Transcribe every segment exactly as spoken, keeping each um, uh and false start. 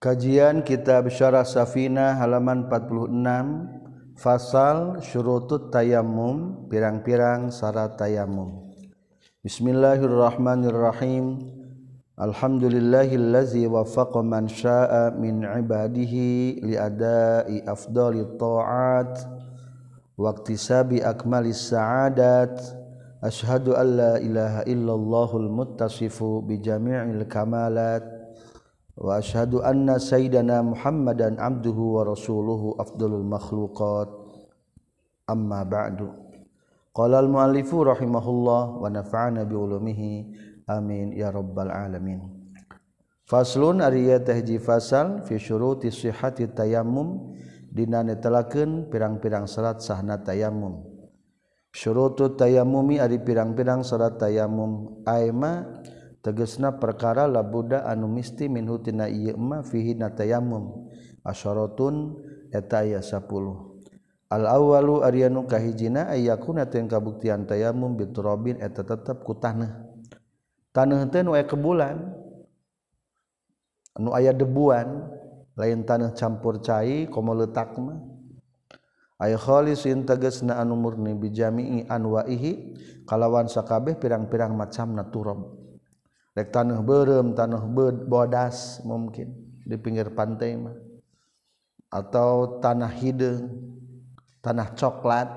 Kajian Kitab Syarah Safinah halaman empat puluh enam. Fasal Syurutut Tayammum, pirang-pirang syarat tayamum. Bismillahirrahmanirrahim. Alhamdulillahillazi waffaqa man syaa'a min ibadihi li adai afdhalit ta'at wa iktisabi akmalis sa'adat. Asyhadu an la ilaha illallahul muttasifu bi jami'il kamalat. Wa asyhadu anna sayyidana Muhammadan abduhu wa rasuluhu afdalul makhluqat. Amma ba'du. Qala al-muallifu rahimahullah wa nafa'ana bi ulumihi amin ya rabbal alamin. Faslun ariya tahji fasal fi syuruti sihhati tayammum dina netelakeun pirang-pirang syarat sahna tayammum. Syurutut tayammumi ari pirang-pirang syarat tayammum aima tegesna perkara labuda anu misti minhu tina ieu mah fihi na tayammum asyaratun eta aya sepuluh. Al awwalu ari anu kahijina ayakuna teh kabuktian tayammum biturabin eta tetep ku taneuh. Taneuh teh nu aya kebulan anu aya debuan lain taneuh campur cai komo leutak mah aya khalisin tegesna anu murni bijami'i anwaihi kalawan sakabeh pirang-pirang macamna turab. Rek taneuh beureum, taneuh bodas mungkin di pinggir pantai mah atau tanah hideung, tanah coklat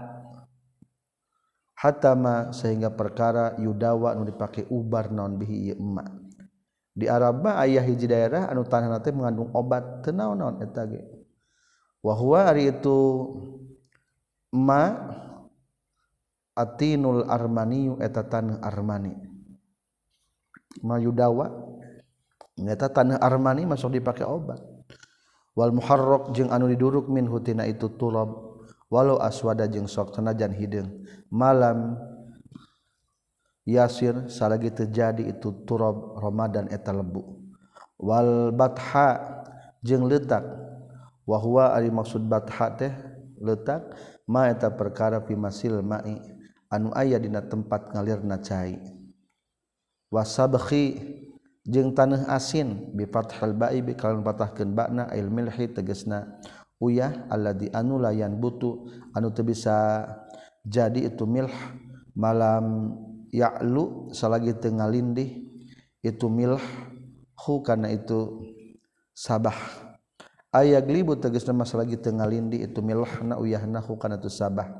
hatama sehingga perkara yudawa anu dipake ubar naon bihi ieu emma. Di Arab mah aya hiji daerah anu tanahna teh mengandung obat teu naon-naon eta ge. Wa huwa ari itu emma atinul armaniyu eta taneuh armani. Mayudawa nyata tanah armani masuk dipake obat. Wal muharrak jeung anu diduruk min hutina itu turab walau aswada jeung sok sanajan hideung malam yasir salagi terjadi itu turab ramadan eta lebu. Wal batha jeung leutak wa huwa ari maksud batha teh leutak ma eta perkara fi masil ma'i anu aya dina tempat ngalirna cai. Wasabkhi jeung taneuh asin bi fathil ba'i bi kalawan patahkeun ba'na ail milhi tegasna uyah alladzi anu layan butu anu teu bisa jadi itu milh malam ya'lu salagi teu ngalindih itu milh hu kana itu sabah aya glibu tegasna mas salagi teu ngalindih itu milhna uyahna hu kana itu sabah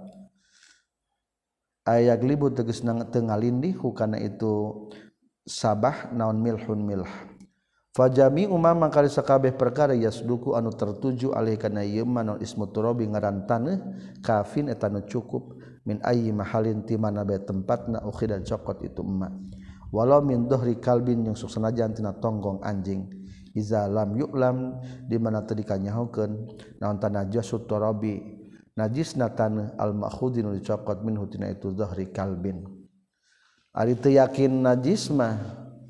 aya glibu tegasna teu ngalindih hu kana itu sabah naon milhun milh fajami umam mangkali sakabeh perkara yasduku anu tertuju alih kana ieu mah naon ismu turabi ngaran taneuh kafin eta nu cukup min ayyi mahalin ti mana bae tempatna ukhidan cokot itu emma walau min dhuhri kalbin yang sok sanajan tina tonggong anjing iza lam yu'lam di mana teu dikanyahokeun naon tanajasut turabi najisna taneuh al ma'khudin nu dicokot minhu tina itu dhuhri kalbin. Ari teu yakin najis mah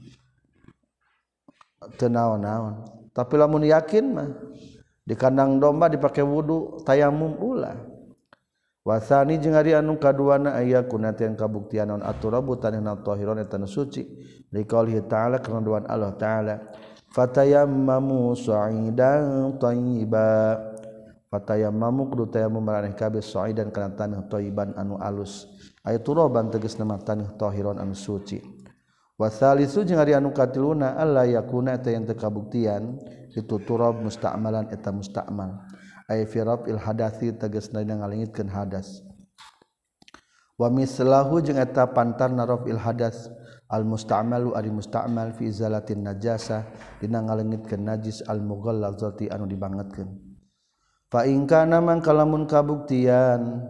teu naon-naon. Tapi lamun yakin mah di kandang domba dipake wudu tayamum ulah. Wasani jeung ari anu kaduana aya kunat yang kabuktian naon aturabu tanina tahiron eta suci. Liqaulihi ta'ala kana doan Allah ta'ala fatayammamu sa'idan thayyiba. Fatayammamu kudu tayamum maraneh kabeh sa'idan kana taneuh thayyiban anu alus. Aya turaban tegasna mah taneuh tahiron anu suci. Wa tsalisu jeung ari anu katiluna alla yakuna eta yang teu kabuktian itu turab musta'malan eta musta'mal. Ay fi raf'il hadathi tegasna dina ngalingitkeun hadas. Wa mislahu jeung eta pantarna raf'il hadas al musta'malu ari musta'mal fi izalatin najasah dina ngalingitkeun najis al mughallazati anu dibangetkeun. Fa in kana man kalamun kabuktian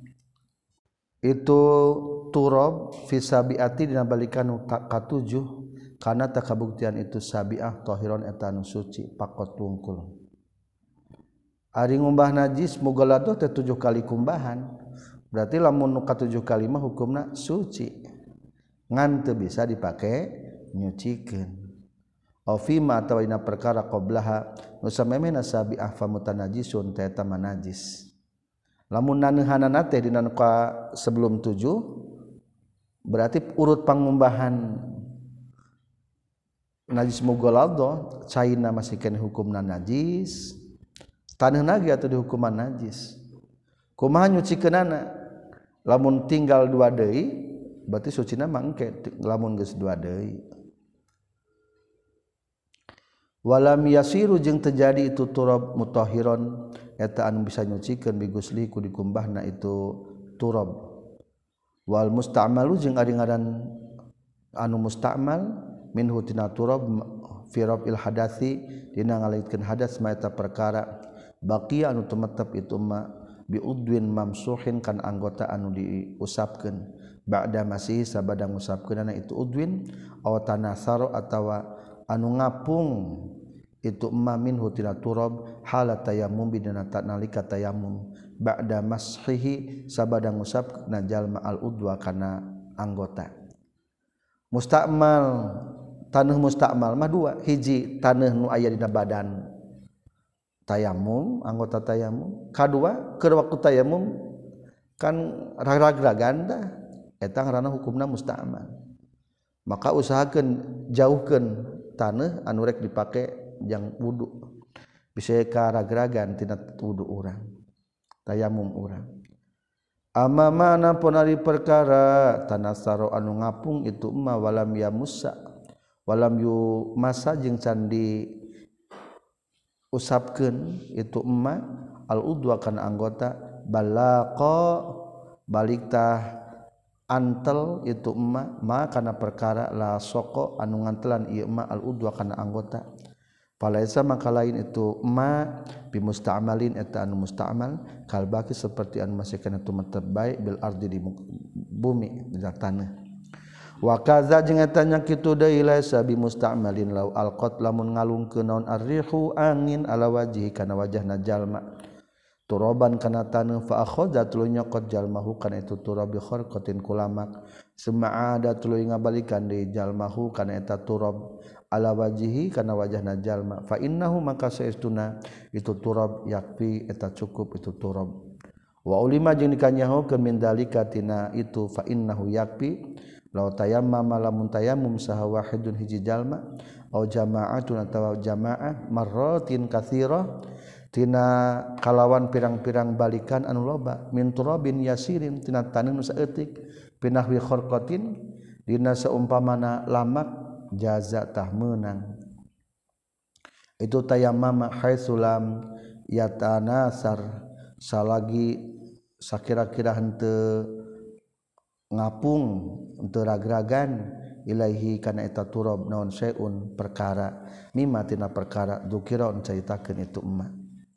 itu turab fi sabiati dina balikan katujuh kana tak kabuktian itu sabiah tahiron eta anu suci pakot tungkul ari ngumbah najis mughalladhah teh tujuh kali kumbahan berarti lamun nu katujuh kali mah hukumna suci ngan teu bisa dipake nyucikeun au fi ma atawa dina perkara qablaha nu samemehna sabiah famutanajisun teh eta najis. Lamun naneuhanana teh dina ka sebelum tujuh berarti urut pangumbahan najis mughalladhah caina masihkeun hukumna najis taneuh nage atuh dihukuman najis kumaha nyucikeunana lamun tinggal dua deui berarti sucina mah engke lamun geus dua deui walam yasiru jeung terjadi itu turab mutahhiron eta anu bisa nyucikeun bigusli ku dikumbahna itu turab wal musta'malu jeung ari ngaran anu musta'mal minhu tina turab fi raf'il hadathi dina ngalaitkeun hadas ma eta perkara baqiya anu tumetep itu ma bi udwin mamsuhin kan anggota anu diusapkeun ba'da masih sabada ngusapkeunana itu udwin aw tanasaro atawa anu ngapung itu emma minhu tina turab halat tayammum bidana nalika tayammum ba'da mashihi sabada ngusapna jalma al udwa kana anggota musta'mal taneuh musta'mal mah dua hiji taneuh nu aya dina badan tayammum anggota tayammum kadua keur waktu tayammum kan ragrag-ragan tah eta ngaranna hukumna musta'mal maka usahakeun jauhkeun taneuh anu rek dipake jang wudu bisa ka ragragan tina wudu urang tayamum urang amma mana pun ari perkara tanasaro anu ngapung itu emma walam ya musa walam yu masa jeung can di usapkeun itu emma al udwa kana anggota balaqa baliktah antel itu emma ma kana perkara la soko anu ngantelan ieu emma al udwa kana anggota falaisa maka lain itu emma bi musta'malin eta anu musta'mal kalbaki seperti anu masih kana tumetep bae bil ardi di bumi di tanah wa kaza jeung eta nya kitu deui laisa bi musta'malin law alqat lamun ngalungkeun naon arrihu angin ala wajhi kana wajahna jalma turaban kana taneuh fa akhadha tuluy nyokot jalmahu kana itu turab bi kharqatin kulamak suma'ada tuluy ngabalikan deui jalmahu kana eta turab ala wajhihi kana wajahna jalma fa innahu maka saestuna itu turab yakfi eta cukup itu turab wa ulima jeung dikanyahokeun min dalika tina itu fa innahu yakfi law tayammama lamun tayammum saha wahidun hiji jalma au jama'atun atawa jamaah marratin katsirah tina kalawan pirang-pirang balikan anu loba min turabin yasirin tina taneuh nu saeutik pinahwi kharqatin dina saumpamana lamak jaza tah meunang itu tayammama haitsulam yatanasar salagi sakira-kira henteu ngapung henteu ragragan ilaihi kana eta turab naon syai'un perkara mimma tina perkara dzukira caritakeun itu emma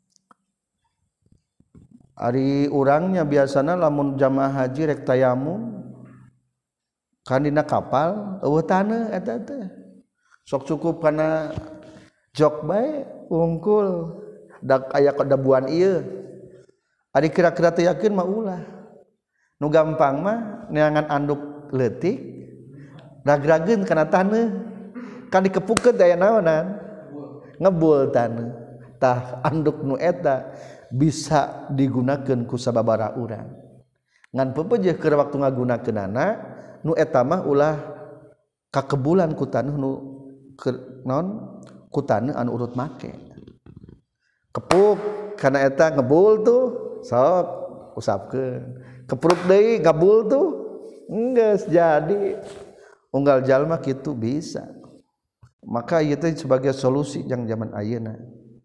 ari urangnya biasana lamun jamaah haji rek tayamum kan dina kapal eueuh taneuh eta teh sok cukup kana jok bae wungkul dak aya kadabuan ieu ari kira-kira teh yakeun mah ulah nu gampang mah neangan anduk leutik ragrageun kana taneuh kan dikepukeun teh aya naonan ngebul taneuh tah anduk nu eta bisa digunakeun ku sababaraha urang ngan pepeujeuh keur waktu ngagunakeunana nu eta mah ulah kakebulan ku taneuh nu naon ku taneuh anu urut make kepuk kana eta ngebul tuh sok usapkeun kepruk deui ngabul tuh enggeus jadi unggal jalma kitu bisa maka ieu teh sebagai solusi yang zaman ayeuna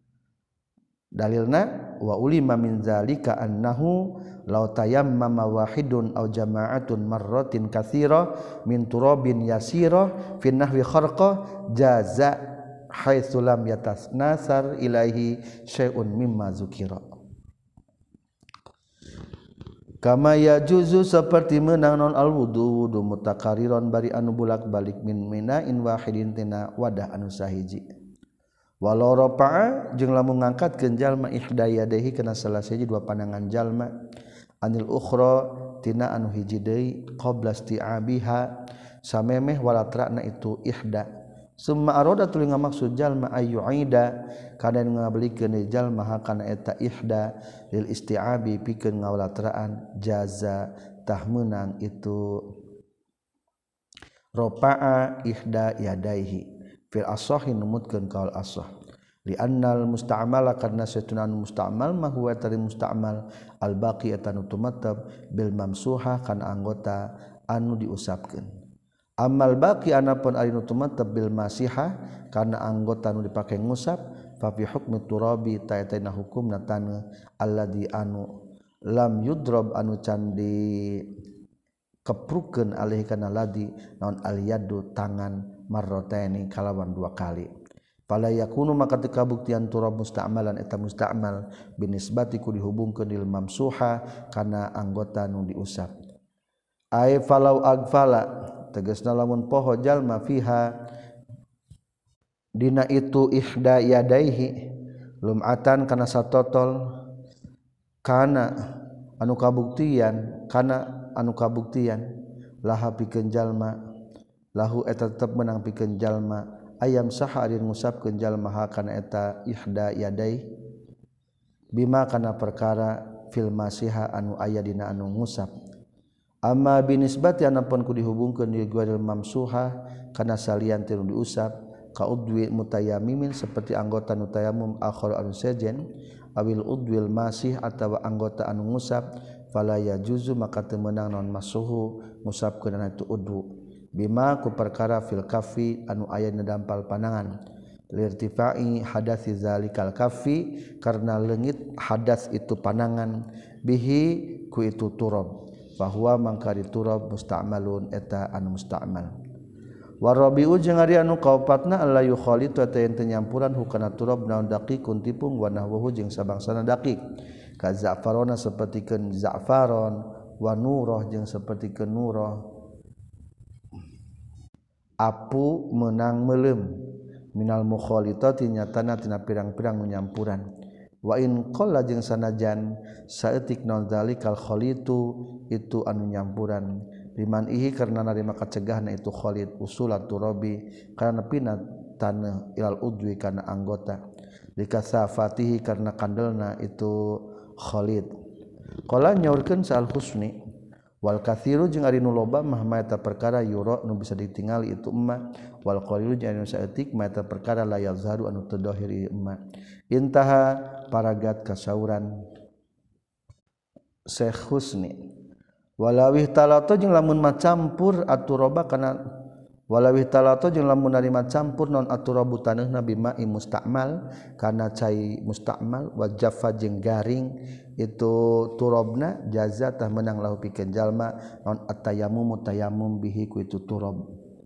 dalilna wa ulima min zalika annahu law tayammama wahidun aw jama'atun marratin katsira min turabin yasira fi nahwi kharqa jaza haitsu lam yatasnasar ilaihi syai'un mimma zukira kama yajuzu seperti meunang non al wudu wudu mutakariron bari anu bulak-balik min minain wahidin tina wadah anu sahiji walau rafa'a jeung lamun ngangkatkeun jalma ihda yadayhi kana salah sahiji dua pandangan jalma anil ukhra tina anu hiji deui qabla isti'abiha samemeh walatrana itu ihda summa arada tuluy ngamaksud jalma ayyuida kana ngabelikeun deui jalma kana eta ihda lil isti'abi pikeun ngawalatraan jaza tah meunang itu rafa'a ihda yadayhi fil asahi numutkeun kaul asah li annal musta'mal karna satuna musta'mal mah huwa tari musta'mal al baqi eta nu tumatab bil mamsuha kana anggota anu diusapkeun amal baqi anapun ari nu tumatab bil masiha kana anggota anu dipake ngusap fa fi hukmi turabi ta'atana hukumna taneuh alladzi anu lam yudrab anu can di keprukeun alih kana ladi naon al yadu tangan marrataini kalawan dua kali fala yakunu maka teu kabuktian turab musta'malan eta musta'mal binisbati ku dihubungkeun lil mamsuha kana anggota nu diusap ai falau agfala tegasna lamun poho jalma fiha dina itu ihda yadaihi lum'atan kana satotol kana anu kabuktian kana anu kabuktian laha pikeun jalma lahu eta tetep menang pikeun jalma ayam saha ari ngusapkeun jalma ha kana eta ihda yadai bima kana perkara fil masiha anu aya dina anu ngusap amma binisbati anapun ku dihubungkeun di ghairil mamsuha kana salian teu diusap ka udwi mutayammimin seperti anggota nu tayammum akhir anu sejen awil udwil masih atawa anggota anu ngusap fala yajuzu maka teu meunang naon masuhu ngusapkeun itu udwu bima ku perkara fil kafi anu aya na dampal panangan lirtifai hadasi zalikal kafi karena leungit hadas itu panangan bihi ku itu turab bahwa mangkari turab musta'malun eta anu musta'mal warabiu jeung ari anu kaopatna alla yukhalitu eta yen teu nyampuran hukana turab naon daqiqun tipung wa nahwuhu jeung sabangsana daqiq ka za'farona sapertikeun za'faron wa nurah jeung sapertikeun nurah apu menang meleum minal mukhalitati nyatana tina pirang-pirang nyampuran wa in qalla jeung sanajan saeutik naon zalikal khalitu itu anu nyampuran liman ihi karna narima kacegahna itu khalit usulat turabi karena pina taneuh ilal udwi kana anggota likasafatihi karna kandelna itu khalit qala nyaurkeun sal husni wal katsiru jeung ari nu loba mah eta perkara yura nu bisa ditingali itu emma wal qalilu jeung anu saeutik mah eta perkara la yazharu anu teu dhahir emma intaha paragat kasauran Syekh Husni walawih talato jeung lamun macampur aturaba kana walawih talato jeung lamun ari macampur non aturabu taneuna bima musta'mal kana cai musta'mal wa jaffa jeung garing itu turabna jaza tah menang lahu pikeun jalma non at-tayammum tayammum bihi ku itu turab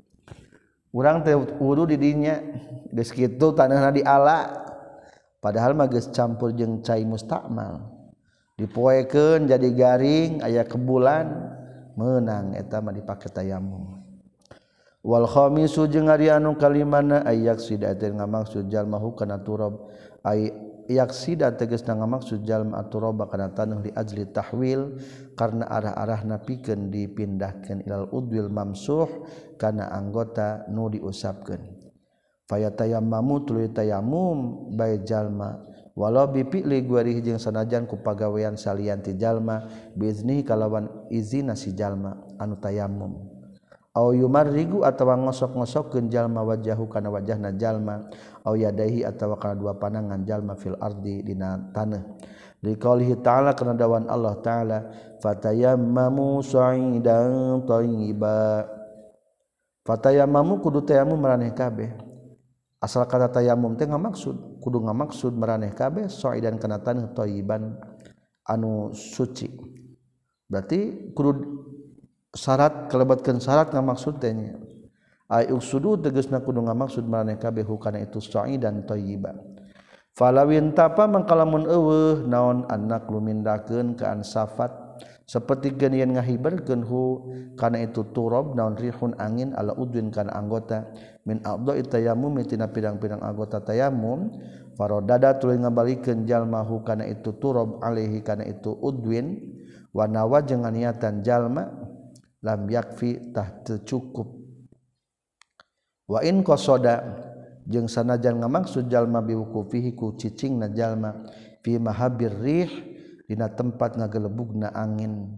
urang teh wudu di dinya geus kitu taneuna diala padahal mah geus campur jeung cai musta'mal dipoekeun jadi garing aya kebulan meunang eta mah dipake tayammum wal khamisu jeung ari anu kalimana ayak sida teh ngamaksud jalma hukana turab ay yaksida tegasna ngamaksud jalma aturaba kana taneuh li ajli tahwil karna arah-arahna pikeun dipindahkeun ilal udwil mamsuh kana anggota nu diusapkeun fayatayammamu tuluy tayammum bae jalma walau bipi'li guarih jeung sanajan ku pagawean salian ti jalma biizni kalawan izina si jalma anu tayammum au yumarrigu atawa ngosok-ngosokkeun jalma wajahu kana wajahna jalma au yadaihi atawa kana dua panangan jalma fil ardi dina taneuh liqaulihi ta'ala kana dawan Allah ta'ala fatayammamu sa'idan thayyiba fatayammamu kudu tayammum maraneh kabeh asal kata tayammum teh ngamaksud kudu ngamaksud maraneh kabeh sa'idan kana taneuh thayyiban anu suci berarti kudu syarat kelebatkeun syarat ngamaksud teh nya ay uksudu tegasna kudu ngamaksud maraneh kabeh hukana itu sa'idan thayyiban falawin tapa mangkalamun eueuh naon anak lumindahkeun ka ansafat saperti yen ngahiberkeun hu kana itu turab naon rihun angin ala udwin kana anggota min a'dha'i tayammum tina pirang-pirang anggota tayammum faradada tuluy ngabalikeun jalma hu kana itu turab alaihi kana itu udwin wa nawa jeung niatan jalma lam yakfi tah teu cukup wa in qasada jeung sanajan ngamaksud jalma biwukufihi ku cicingna jalma fi mahabir rih dina tempat ngagelebugna angin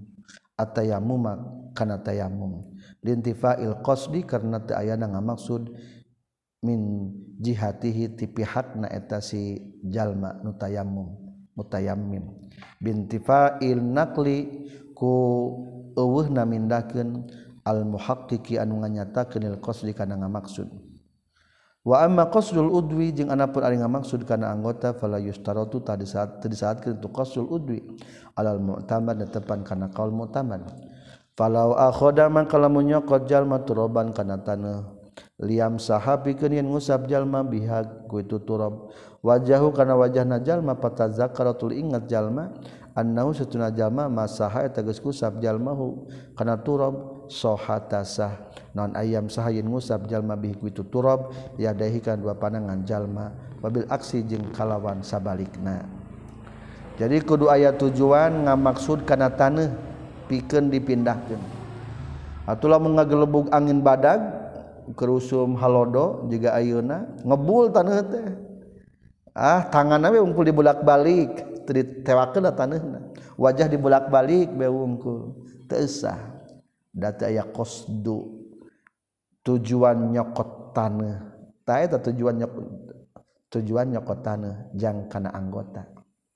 atayammum kana tayammum lintifail qasdi karna teu ayana ngamaksud min jihatihi ti pihakna eta si jalma nu tayammum mutayammim bintifa'il naqli ku eueuhna mindahkeun al muhaqqiqi anu nganyatakeun il qasdi kana ngamaksud wa amma qasdul udwi jeung anapun ari ngamaksud kana anggota fala yustaratu tadi saat tadi saat kitu qasdul udwi alal mu'tamad netepan kana qaul mu'tamad falau akhoda man kalamun nyokot jalma turaban kana taneuh liam sahabikeun yen ngusap jalma biha ku itu turab wajahu kana wajahna jalma patazakaratul ingat jalma annahu satuna jalma masaha eta geus kusap jalmahu kana turab sohatasah non ayam sahayin ngusap jalma bihi ku itu turab yadahi kan dua pandangan jalma wabil aksi jeung kalawan sabalikna jadi kudu aya tujuan ngamaksud kana taneuh pikeun dipindahkeun atulah mengagelebug angin badag kerusum halodo juga ayeuna ngebul taneuh teh ah tanganna we ungkul dibulak-balik teu ditewakeun taneuhna wajah dibulak-balik we ungkul teu usah da teu aya qasdu tujuan nyokot taneuh ta eta tujuan nyokot tujuan nyokot taneuh jang kana anggota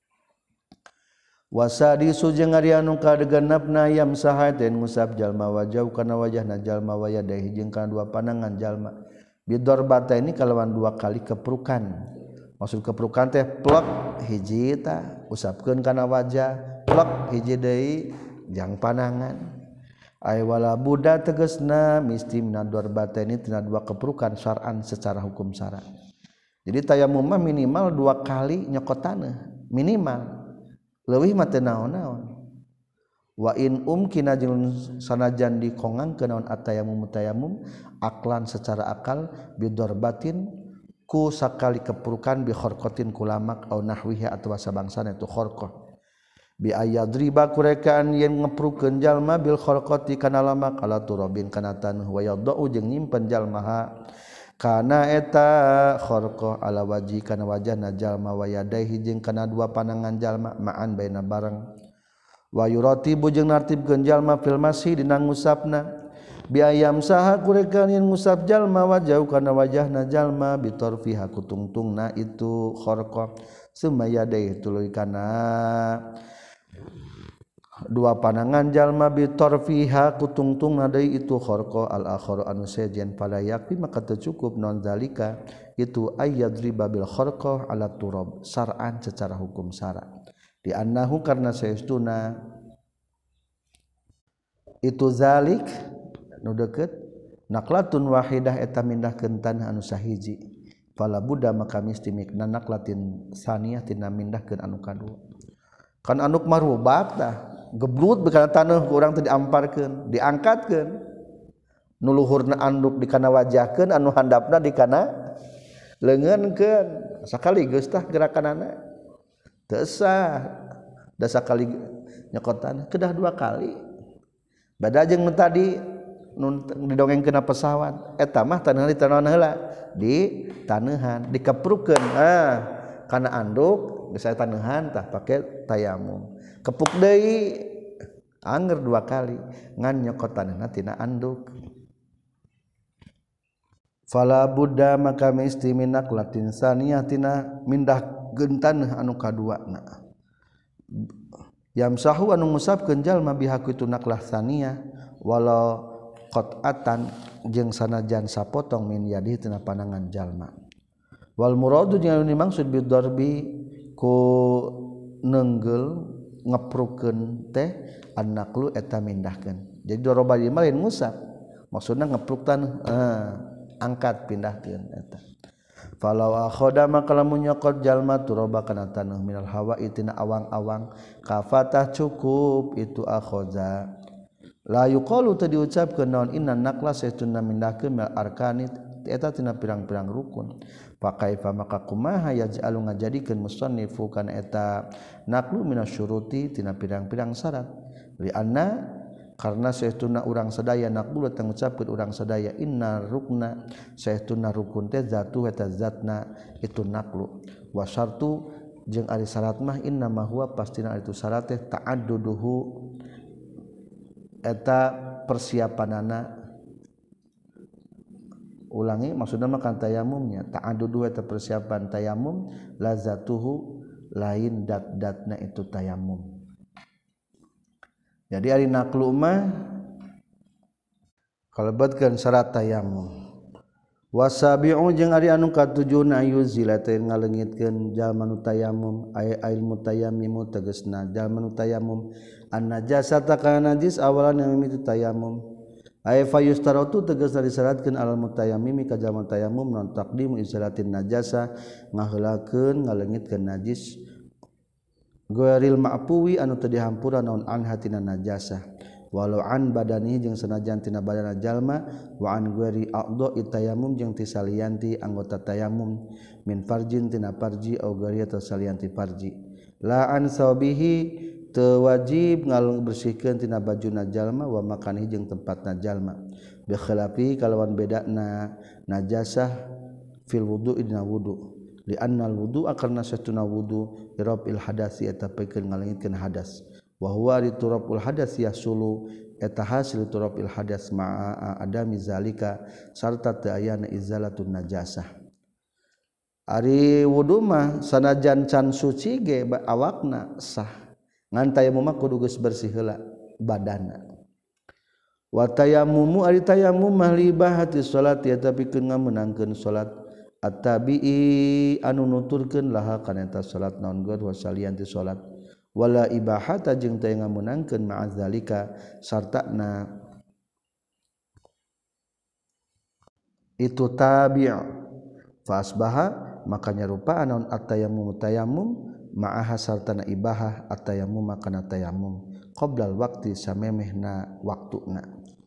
wasadi sujeng ari anu kadegenepna yam sahaten ngusap jalma wajah kana wajahna jalma waya dahi jeung kana dua pandangan jalma bidorbata ini kalawan dua kali keprukan maksud keprukan teh plek hiji ta usapkeun kana wajah plek hiji deui jang pandangan ay wala buddha tegasna misti minadarbata ini tina dua keprukan syar'an secara hukum syara jadi tayamum mah minimal dua kali nyokot taneuh minimal leuwih mah teu naon-naon wa in umkina jeung sanajan dikongangkeun naon atayamum mutayamum aklan secara akal bidorbatin ku sakali keprukan bi kharqatin kulamak au nahwiha atawa sabangsana itu kharqah bi ayadriba kurekaan yen ngeprukeun jalma bil kharqati kana lamak ala turabin kana taneuh wa yadau jeung nyimpen jalma kana eta kharqah ala waji kana wajahna jalma wa yadaihi jeung kana dua pandangan jalma ma'an baina bareng wa yuratibu jeung nartibkeun jalma fil masih dina ngusapna bi ayam saha kurekan yen ngusap jalma wajah kana wajahna jalma bi tarfiha kutungtungna itu kharqah summa yadaihi tuluy kana dua pandangan jalma bitorfiha kutungtung nadai itu kharqa al akhar anu sejen pada yakti maka teu cukup non zalika itu ayyadriba bil kharqa ala turab syar'an secara hukum syara di annahu karna saestuna itu zalik nu deukeut naqlatun wahidah eta mindahkeun tanah anu sahiji fala budda maka misti mikna naqlatin saniyah tina mindahkeun anu kadua kan anu marubak tah geblut bekana taneuh ku urang teh diamparkeun diangkatkeun nu luhurna anduk di kana wajahkeun anu handapna di kana leungeunkeun sakali geus tah gerakanana teu sah da sakali nyokot taneuh kedah dua kali bada jeung nu tadi nu didongengkeunna pesawat eta mah taneuh di taneuhan heula di taneuhan dikeprukeun ah kana anduk geus aya taneuhan tah pake tayamum kepuk deui anger dua kali ngan nyokot taneuhna tina anduk fala budda maka mesti minak latin saniyah tina mindah gentaneuh anu kaduana yamsahu anu ngusapkeun jalma bihaku itu naklah saniyah walau qat'atan jeung sanajan sapotong min yadi tina pandangan jalma wal muradu jeung anu dimaksud bidarbi ku neunggel ngeprukeun teh annaqlu eta mindahkeun jadi doroba ieu mah lain ngusap maksudna ngepruk taneuh eh, angkat pindahkeun eta falau akhoda maka lamun nyokot jalma turoba kana taneuh minal hawa itina awang-awang kafatah cukup itu akhoza la yuqalu teu diucapkeun naon inna naqla saestuna mindahkeun mil arkanit eta tina pirang-pirang rukun pakaifa maka kumaha yaj'alu ngajadikeun musannifu kana eta naqlu minasyuruti tina pirang-pirang syarat li anna karna saestuna urang sadaya naqlu teh ngucapkeun urang sadaya inna rukna saestuna rukun teh zatu eta zatna itu naqlu wa syartu jeung ari syarat mah inna ma huwa pastina itu syarat teh ta'adduduhu eta persiapanana ulangi maksudna makan tayamumnya ta'addudu eta persiapan tayamum lazatuhu lain dat-datna itu tayamum. Jadi ari naqlu mah kalebetkeun syarat tayamum. Wasabi'u jeung ari anu katujuna yuzila teh ngaleungitkeun jalma nu tayamum ay ilmu tayamum tegasna jalma nu tayamum an najasata kana najis awalan yang mimitu tayamum ay fayustaratu tegasna disyaratkeun alal mutayammimi ka jalma tayamum non taqdimu izalatin najasa ngaheulakeun ngaleungitkeun najis ghairil ma'puwi anu teu dihampura naon an hatina najasa walau an badani jeung sanajan tina badana jalma wa an ghairi a'dha'i tayammum jeung ti salianti anggota tayammum min farjin tina farji au ghairi atau salianti farji la an sabihi teu wajib ngabersihkeun tina bajuna jalma wa makanihi jeung tempatna jalma bi khilafi kalawan bedana najasah fil wudu'i dina wudu li annal wudu'a karna satuna wudu irafil hadasi eta pikeun ngaleungitkeun hadas wa huwa riturabul hadas yasulu eta hasil turabul hadas ma'a adami zalika sarta teu aya izalatun najasah. Ari wudu mah sanajan can suci ge awakna sah ngan tayamum mah kudu geus bersih heula badanna. Wa tayammumu ari tayammum mah libahati salat ya tapi keun ngameunangkeun salat at-tabi'i anu nuturkeun laha kana eta salat naon geur wa salianti salat wala ibahata jeung teu ngameunangkeun ma'azalika sartana itu tabi' fa asbaha maka nyarupa naon at-tayammum tayammum ma'aha sartana ibahah at-tayammum kana tayammum qoblal waqti samemehna waktuna.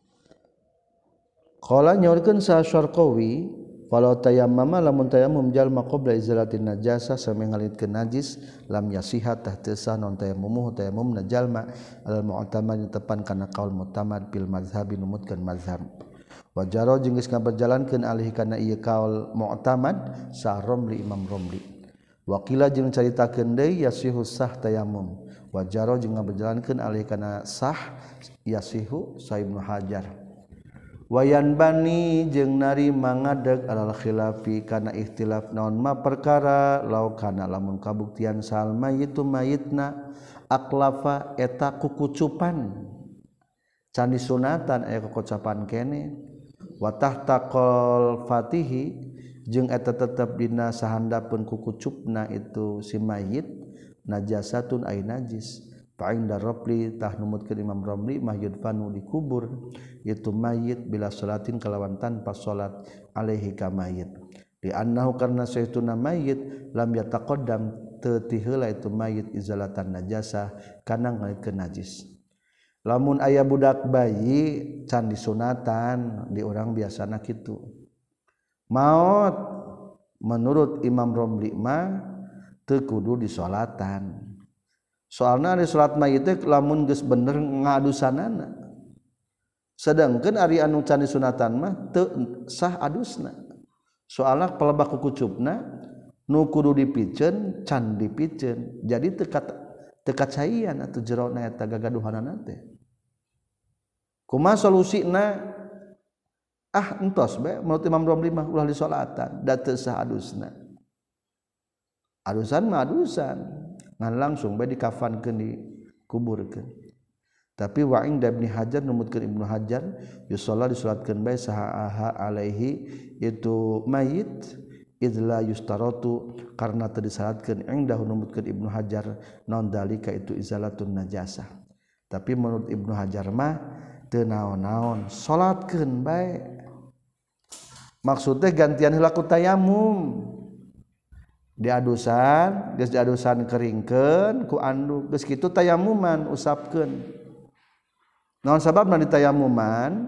Qala nyaurkeun sa Syarqawi walau tayammama lamun tayammum jalma qabla izalatin najasa sampai ngalitkeun najis lam yasihat tah teu sah non tayammum tayammum jalma al mu'tamad tepan kana qaul mu'tamad bil mazhabi numutkeun mazhab wa jaro jeung geus ngaberjalankeun alih kana ieu qaul mu'tamad sa Romli Imam Romli wa qila jeung caritakeun deui yasihu sah tayammum wa jaro jeung ngaberjalankeun alih kana sah yasihu sa Ibnu Hajar wayan bani jeung nari mangadeg alal khilafi kana ikhtilaf naon ma perkara law kana lamun kabuktian sal mayit mayitna aklafa eta kukucupan can disunatan aya kukucupan kene wa tahtaqal fatihi jeung eta tetep dina sahandapeun kukucupna itu si mayit najasatun ay najis fa inda Rabli tah numutkeun Imam Ramli mah yudfanu dikubur itu mayit bila salatin kalawan tanpa salat alaihi ka mayit di annahu karna sayyiduna mayit lam yataqaddam teu ti heula itu mayit izalatan najasa kana ngalitkeun najis lamun aya budak bayi can disunatan di urang biasana kitu maot menurut Imam Ramli mah teu kudu disolatan soalna ari salat mayit teh lamun geus bener ngadusanana sedangkeun ari anu can disunatan mah teu sah adusna soalna pelebak kukucupna nu kudu dipikeun can dipikeun jadi teu teu kacayan atuh jerona eta gagaduhanana teh kumaha solusina ah entos bae menurut Imam Ramli mah ulah disolatan da teu sah adusna adusan mah adusan ngan langsung bae dikafankeun dikuburkeun tapi wa inda Ibnu Hajar numutkeun Ibnu Hajar yusalla disalatkeun bae saha alaihi itu mayit idla yustaratu karna teu disalatkeun inda numutkeun Ibnu Hajar naon dalika itu izalatun najasah tapi menurut Ibnu Hajar mah teu naon-naon salatkeun bae maksudnya gantian heula ku tayammum diadusan geus diadusan keringkeun ku anduk geus kitu tayammuman usapkeun naon sababna ditayammuman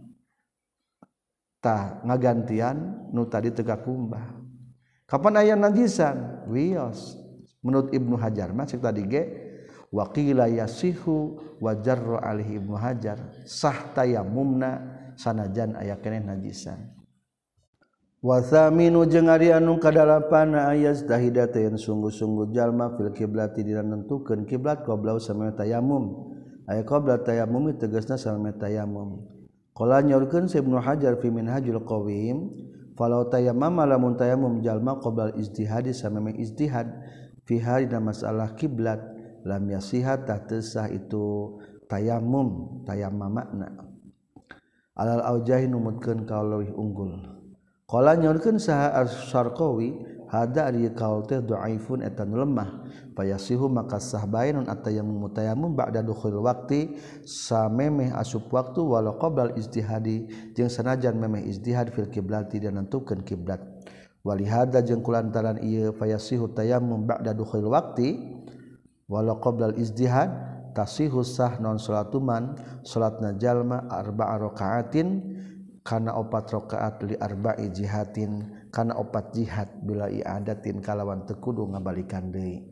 tah ngagantian nu tadi teu kakumbah kapan aya najisan wios menurut Ibnu Hajar mah cek tadi ge wa qila yasihu wa jarra alaihi Ibnu Hajar sah tayammumna sanajan aya keneh najisan wa thaminu jeung ari anu kadalapan ayaz tahidata yang sungguh-sungguh jalma fil kiblati dina nentukeun kiblat qabla samana tayammum aya qabla tayammum tegasna samana tayammum qala nyorkeun Ibnu Hajar fi Minhajul Qawim falau tayammama lamun tayammum jalma qabla ijtihadi sameme ijtihad fi harina masalah kiblat lam yasihat teu sah itu tayammum tayammamna alal aujahi numutkeun kaul leuwih unggul qala nyorkeun saha As-Sarqawi hada ari kaul teh dhaifun eta nu lemah fayasihu maka sah bainun atayammum tayammum ba'da dukhul waqti samemeh asup waktu walau qabla ijtihadi jeung sanajan memeh ijtihad fil kiblati dan nentukeun kiblat walihada jeung kulantaran ieu fayasihu tayammum ba'da dukhul waqti walau qabla ijtihad tasihu sah non salatuman salatna jalma arba'a rakaatin kana opat rakaat li arba'i jihatin kana opat jihad bila i'adatin kalawan teu kudu ngabalikan deui.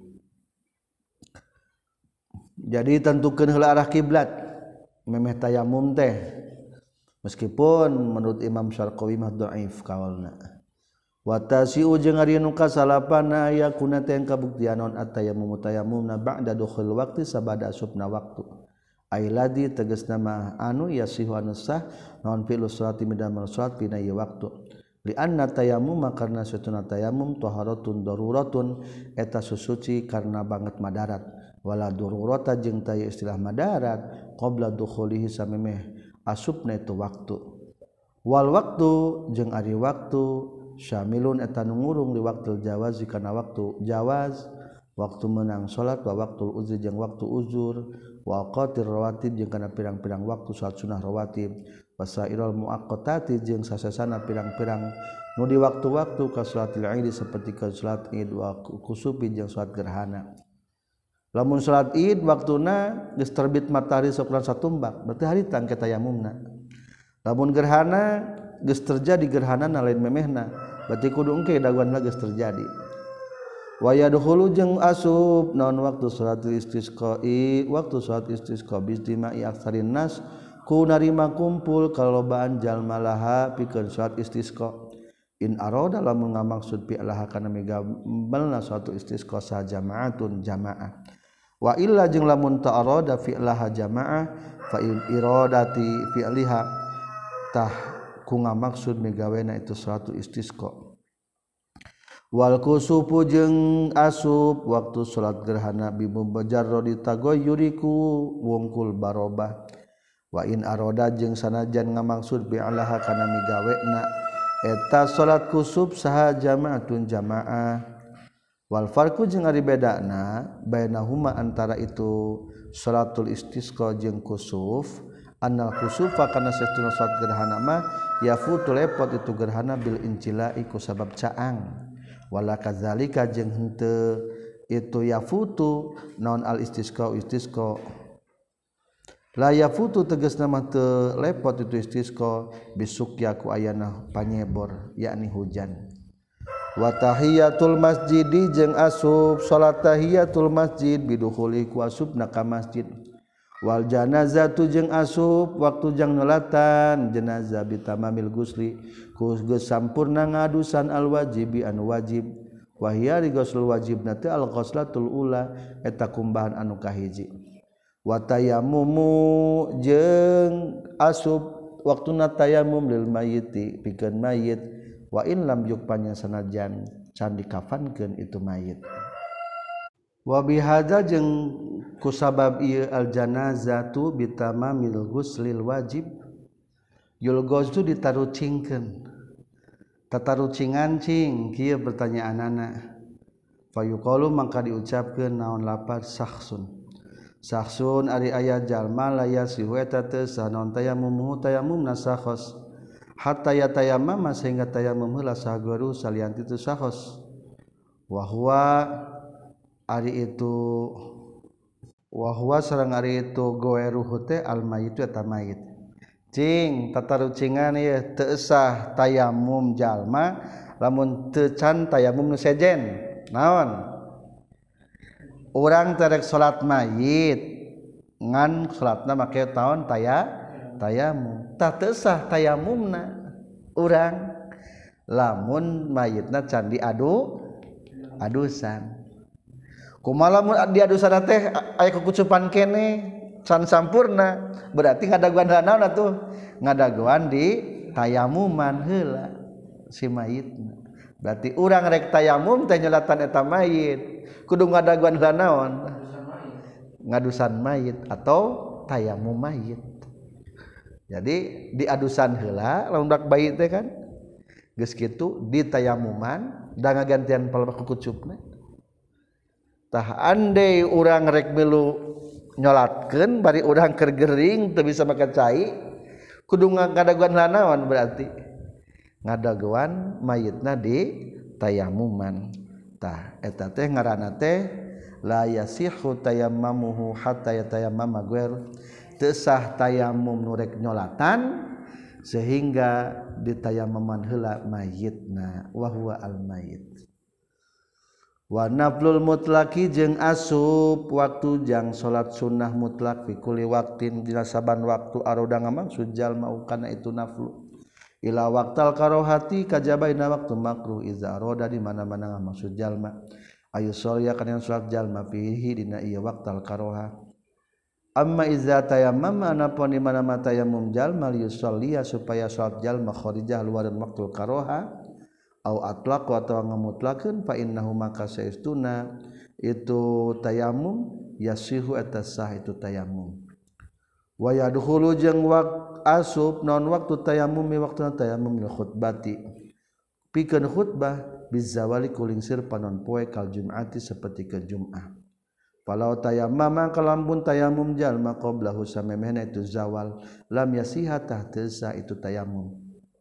Jadi tentukeun heula arah kiblat memeh tayammum teh meskipun menurut Imam Syarqawi mah dhaif kaulna. Wa tasi'u jeung ari nu kasalapana aya kuna teh kabuktian non atayammum tayammumna ba'da dukhul waqti sabada asupna waktu. Ailadi tegasna mah anu yasihu anu sah naon fi'lu sholati midamel sholat pina ieu waktu li anna tayammum karna satuna tayammum taharatun daruratun eta susuci karna banget madarat wala darurata jeung taya istilah madarat qabla dukhulihi samemeh asupna itu waktu wal waktu jeung ari waktu syamilun eta nu ngurung di waktu jawaz kana waktu jawaz waktu menang salat wa waktu uzur jeung waktu uzur wa qatir rawatib jeung kana pirang-pirang waktu salat sunah rawatib wasairul muaqqatati jeung sasasana pirang-pirang nu di waktu-waktu ka salatil Id saperti ka salat Id wa kusufi jeung salat gerhana lamun salat Id waktuna geus terbit matahari sakuran satumbak berarti haritan ke tayammumna lamun gerhana geus terjadi gerhana lain memehna berarti kudu engke daguanna geus terjadi wa yadkhulu jeung asub naon waktu salat istisqa'i waktu salat istisqa bistima'i aktsarin nas ku narima kumpul kalobaan jalma laha pikeun salat istisqa in arada lamun ngamaksud fi laha kana migambalna suatu istisqa sa jamaatun jamaah wa illa jeung lamun ta arada fi laha jamaah fa in iradati fi liha tah ku ngamaksud migawena itu suatu istisqa wal kusufu jeung asub waktu salat gerhana bi mujarradi tagoyyuriku wungkul barobah wa in aroda jeung sanajan ngamaksud bi alaha kana migawena eta salat kusuf saha jamaatun jamaah wal farqu jeung ari bedana bainahuma antara itu salatul istisqa jeung kusuf annal kusufa kana satuna salat gerhana mah yafutu lepot itu gerhana bil incilai ku sabab caang wala kadzalika jeung henteu itu yafutu naon al istisqa istisqa la yafutu tegasna mah teu lepot itu istisqa bisukya ku ayana panyebor yakni hujan wa tahiyatul masjidi jeung asub salat tahiyatul masjid bidukhuli ku asubna ka masjid wal janazatu jeung asub waktu jang nolatan jenazah bitamamil gusli ku geus sampurna ngadusan al wajibi anu wajib wa hiya ghusl wajibna teh al ghuslatul ula eta kumbahan anu kahiji wa tayammumu jeung asub waktuna tayammum lil mayyiti pikeun mayit wa in lam yukpanya sanajan can dikafankeun itu mayit wa bihadza jeung kusabab ieu al janazatu bitamamil ghuslil wajib yulghazu ditarucingkeun tatarucingan cing kieu pertanyaanana fayuqalu mangka diucapkeun naon lapar sakhsun sakhsun ari aya jalma laya sihu eta teu sanon tayammum tayammumna sakhos hatta yatayammama sehingga tayammum heula sahagaru salianti teu sakhos wa huwa ari itu wahwa sareng ari itu goeruhu teh al mayit eta mayit cing tatarucingan ieu teu sah tayammum jalma lamun teu can tayammum nu sejen naon urang terek salat mayit ngan salatna make taon taya tayammum tah teu sah tayammumna urang lamun mayitna can diadu adusan kumaha lamun diadusana teh aya kukucupan kene can sampurna berarti ngadaguan naon atuh ngadaguan di tayamuman heula si mayitna. Berarti urang rek tayamum teh nyolatan eta mayit kudu ngadaguan heula naon? Ngadusan mayit atau tayamum mayit. Jadi di adusan heula lamun dak bayi teh kan geus kitu di tayamuman da ngagantian palebah kukucupna. Tah andai urang rek milu nyolatkeun bari urang keur gering teu bisa make cai kudu ngadaguan heula naon berarti ngadaguan mayitna di tayamuman. Tah eta teh ngaranna teh la yasihu tayammamuhu hatta yatayammama ghair teu sah tayamum nu rek nyolatan sehingga ditayammaman heula mayitna wa huwa al mayit. Wa naflul mutlaqi jeung asup waktu jang salat sunnah mutlak fi kulli waqtin dina saban waktu aroda ngamaksud jalma kana itu naflu ila waqtal karohati kajabaina waktu makruh iza aroda di mana-mana ngamaksud jalma ayu sholia kana salat jalma fihi dina ieu waqtal karoha. Amma iza tayammama anapun di mana-mana tayammum jalma liusollia supaya salat jalma kharijah luareun waqtul karoha au atlaq atau ngamutlakeun fa innahu maka saestuna itu tayammum yasihu eta sah itu tayammum. Wa yadkhulu jeung waqt asub naon waktu tayammum mi waktuna tayammum lil khutbati pikeun khutbah bizawali kulingsir panon poe kal jum'ati saperti ke Jumat. Falau tayammama kalambun tayammum jalma qablahu samemehna itu zawal lam yasiha tah teu sah itu tayammum.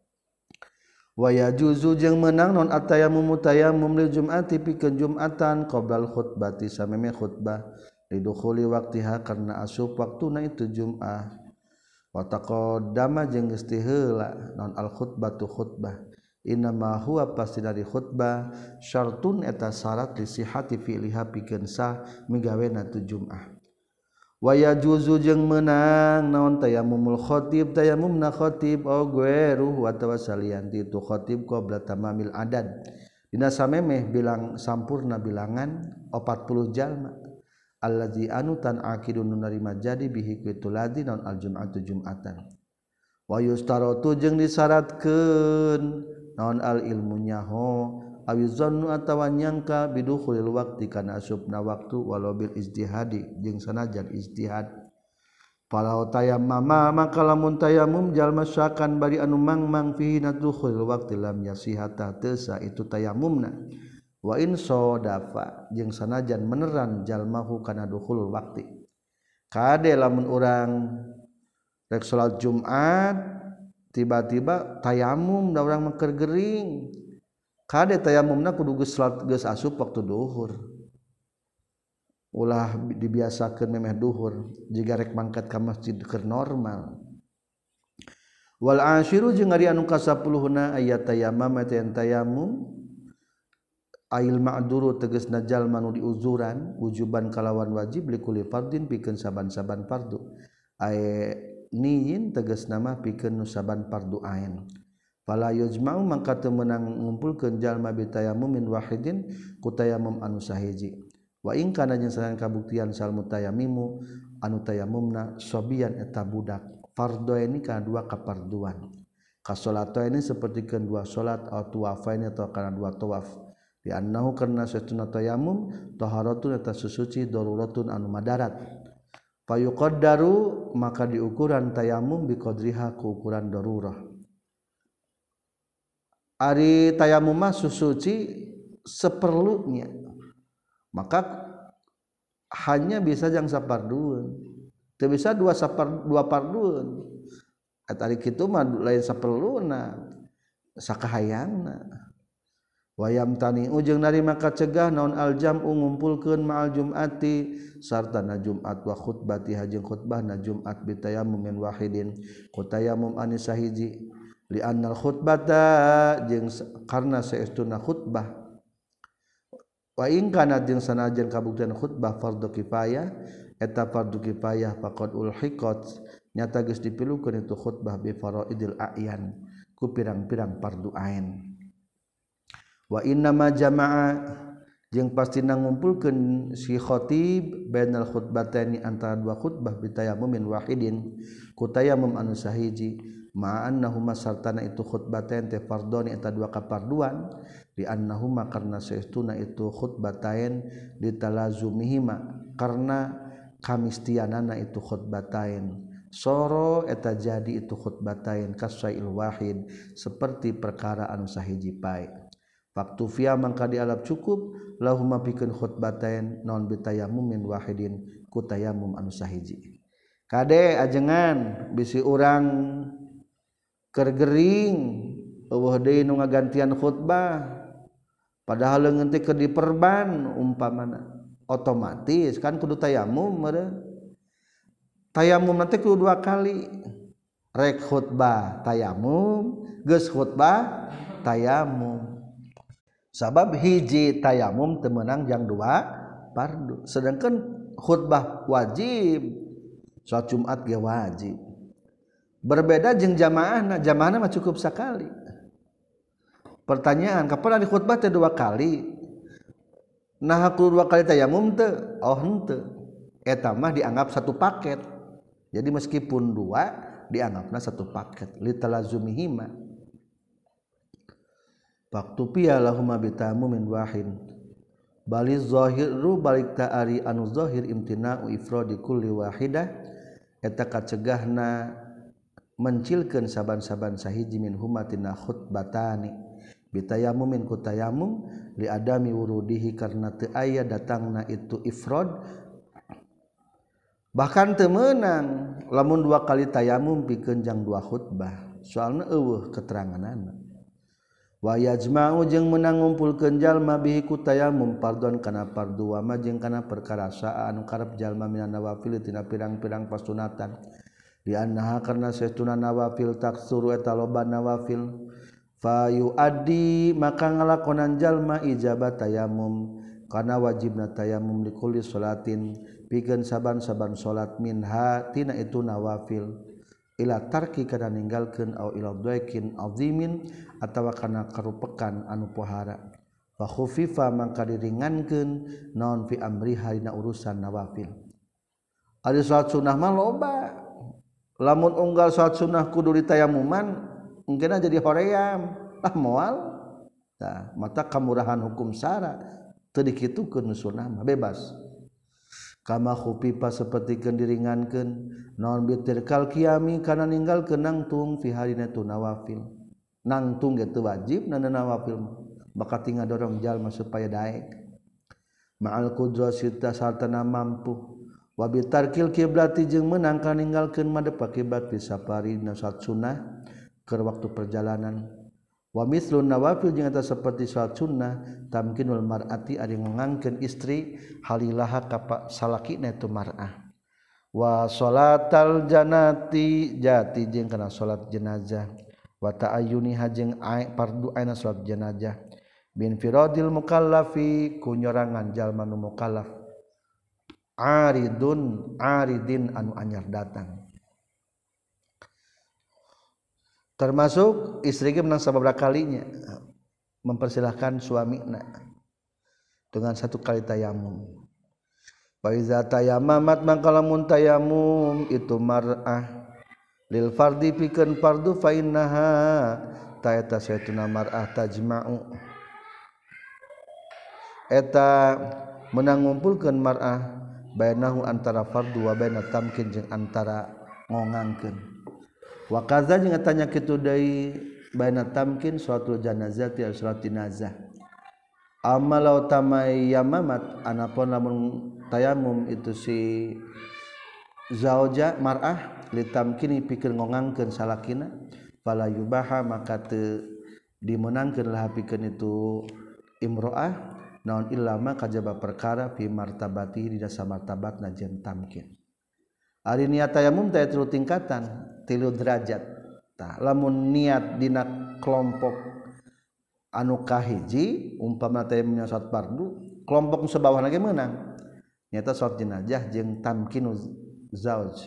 Wa yajuzu jeung meunang non at-tayammum tayammum lil jum'ati pikeun Jumatan qablal khutbati sameme khutbah lidukhuli waqtiha karna asup waktuna itu Jum'ah. Wa taqaddama jeung geus ti heula non al khutbatu khutbah innama huwa pasti dari khutbah syartun eta syarat li sihhati fi'liha pikeun sah migawena tu Jum'ah. Wa yajuzu jeung meunang naon tayammumul khatib tayammumna khatib au ghairuhu atawa salian ti tu khatib qabla tamamil adad dina samemeh bilang sampurna bilangan opat puluh jalma allazi anu tan aqidun narima jadi bihi kitu ladzi naon al jum'atu jum'atan. Wa yustaratu jeung disyaratkeun naon al ilmu nyaho awi zannu atawa nyangka bidukhulil waqti kana asupna waktu walau bil ijtihadi jeung sanajan ijtihad. Falau tayammama maka lamun tayammum jalma syakan bari anu mangmang fihi nadukhulil waqti lam yasihata teu sah itu tayammumna. Wa in sadafa jeung sanajan meneran jalmahu kana dukhulul waqti. Kade lamun urang rek salat Jumat tiba-tiba tayammum da urang mah keur gering kade tayammumna kudu geus salat geus asup waktu duhur ulah dibiasakeun memeh duhur jiga rek mangkat ka masjid keur normal. Wal ashiru jeung ari anu kasapuluhna ayat tayammum eta tayammum ail ma'duru tegasna jalma nu diuzuran wujuban kalawan wajib likulli fardin pikeun saban-saban fardu ay niyin tegasna mah pikeun nu saban fardu ain. Fala yujma'u mangka teu meunang ngumpulkeun jalma bi tayammumin wahidin ku tayammum anu sahiji. Wa in kana jeung sanan kabuktian sal mutayammimu anu tayammumna sobian eta budak fardhu ini kana dua kaparduan. Ka salataini sapertikeun dua salat atau tawafaini atau kana dua tawaf. Di annahu karna satuna tayammum taharatun eta susuci daruratun anu madarat. Fa yuqaddaru maka diukuran tayammum bi qadriha ku ukuran darurah. Ari tayammum mah susuci seperlunya maka hanya bisa jang sapardueun teu bisa dua sapar dua pardueun eta ari kitu mah lain saperluna sakahayangna. Wayam tani ujung narima kacegah naon aljam'u ngumpulkeun ma'al jum'ati sartana Jumat wa khutbati jeung khutbahna Jumat bi tayammumin wahidin ku tayammum anu sahiji li annal khutbata jeung karna saestuna khutbah wa in kana jeung sanajan kabuktian khutbah fardhu kifayah eta fardhu kifayah faqad ulhiqat nyata geus dipilukeun itu khutbah bi faraidil a'yan ku pirang-pirang fardu ain. Wa inna ma jama'a jeung pastina ngumpulkeun si khatib bainal khutbataini antara dua khutbah bi tayammumin wahidin ku tayammum anu sahiji ma'annahuma sartana itu khutbatain teh fardhoni eta dua kaparduan di annahuma karna saestuna itu khutbatain ditalazumihima karena kamistianana itu khutbatain soro eta jadi itu khutbatain kasail wahid seperti perkara anu sahiji pae waktu via mangka dialap cukup lahuma pikeun khutbatain non bitayammumin wahidin ku tayammum anu sahiji kade ajengan bisi urang kergering eueuh deui nu ngagantian khutbah padahal leungeun teh keur diperban umpamana otomatis kan kudu tayamum meureun tayamum nanti kudu dua kali rek khutbah tayamum geus khutbah tayamum sabab hiji tayamum teu meunang jang dua fardu sedangkan khutbah wajib salat Jumat ge wajib berbeda jeung jamaahna jamaahna mah cukup sakali pertanyaan kapan di khutbah teh dua kali nah aku dua kali tayamum teu oh henteu eta mah dianggap satu paket jadi meskipun dua dianggapna satu paket litalazumihima waktu piya lahuma bitamumin wahid baliz zahiru balik ta'ari anu zahir imtina'u ifradi kulli wahidah eta kacegahna mencilkeun saban-saban sahiji min humatina khutbatani bitayammumin ku tayammum li adami wurudihi karna teu aya datangna itu ifrad bahkan teu meunang lamun dua kali tayammum pikeun jang dua khutbah soalna eueuh keteranganana wa yajma'u jeung meunang ngumpulkeun jalma bihi ku tayammum fardhon kana fardu wa ma jeung kana perkara saa anu karep jalma minan nawafil tina pirang-pirang pasunatan di annaha karna saestuna nawafil taksuru eta loba nawafil fa yuaddi maka ngalakonan jalma ijabat tayammum kana wajibna tayammum li kulli salatin pikeun saban-saban salat minha tina itu nawafil ila tarki kana ninggalkeun au ila dhaikin azimin atawa kana karupekan anu pohara fa khufifa mangka diringankeun naon fi amriha dina urusan nawafil ari salat sunah mah loba lamun unggal salat sunnah kudu ditayammuman engkeuna jadi hoream lah moal tah mata kamurahan hukum syara teu dikitukeun sunnah mah bebas kama khufifa sapertikeun diringankeun naon bitirkal qiyami kana ninggalkeun nangtung fi harina tu nawafil nangtung ge teu wajib na nawafil bakal tinggal dorong jalma supaya daek ma'al qudrati sartana mampu wa bitarkil kiblati jeung meunang ka ninggalkeun madep kiblat fi safari salat sunnah keur waktu perjalanan wa mislun nawafil jeung eta saperti salat sunnah tamkinul mar'ati ari ngangkeun istri halilaha ka salakina tu mar'ah wa sholatal janati jati jeung kana salat jenazah wa ta'ayyuniha jeung fardu aina salat jenazah bin firadil mukallafi kunyorangan jalma nu mukallaf aridun aridin anu anyar datang termasuk istri ge menang sababaraha kalinya mempersilahkan suamina dengan satu kali tayamum wa iza tayammamat mangka lamun tayamum itu mar'ah lil fardi pikeun fardu fa innaha ta eta saytuna mar'ah tajma'u eta meunang ngumpulkeun mar'ah bainahu antara fardu wa baina tamkin jeung antara ngongangkeun wa kaza jeung tanya kitu deui baina tamkin suatu janazati al salat jenazah amalau tamayamamat anapun lamun tayamum itu si zauja mar'ah litamkini pikeun ngongangkeun salakina fala yubaha maka teu dimenangkeun lah pikeun itu imro'ah naon illama kajaba perkara fi martabati di dasar martabatna jeung tamkin ari niat tayamum teh tilu tingkatan tilu derajat tah lamun niat dina kelompok anu kahiji umpama tayamumnya salat fardu kelompok nu sabawahna ge meunang nyata salat jenazah jeung tamkinu zauj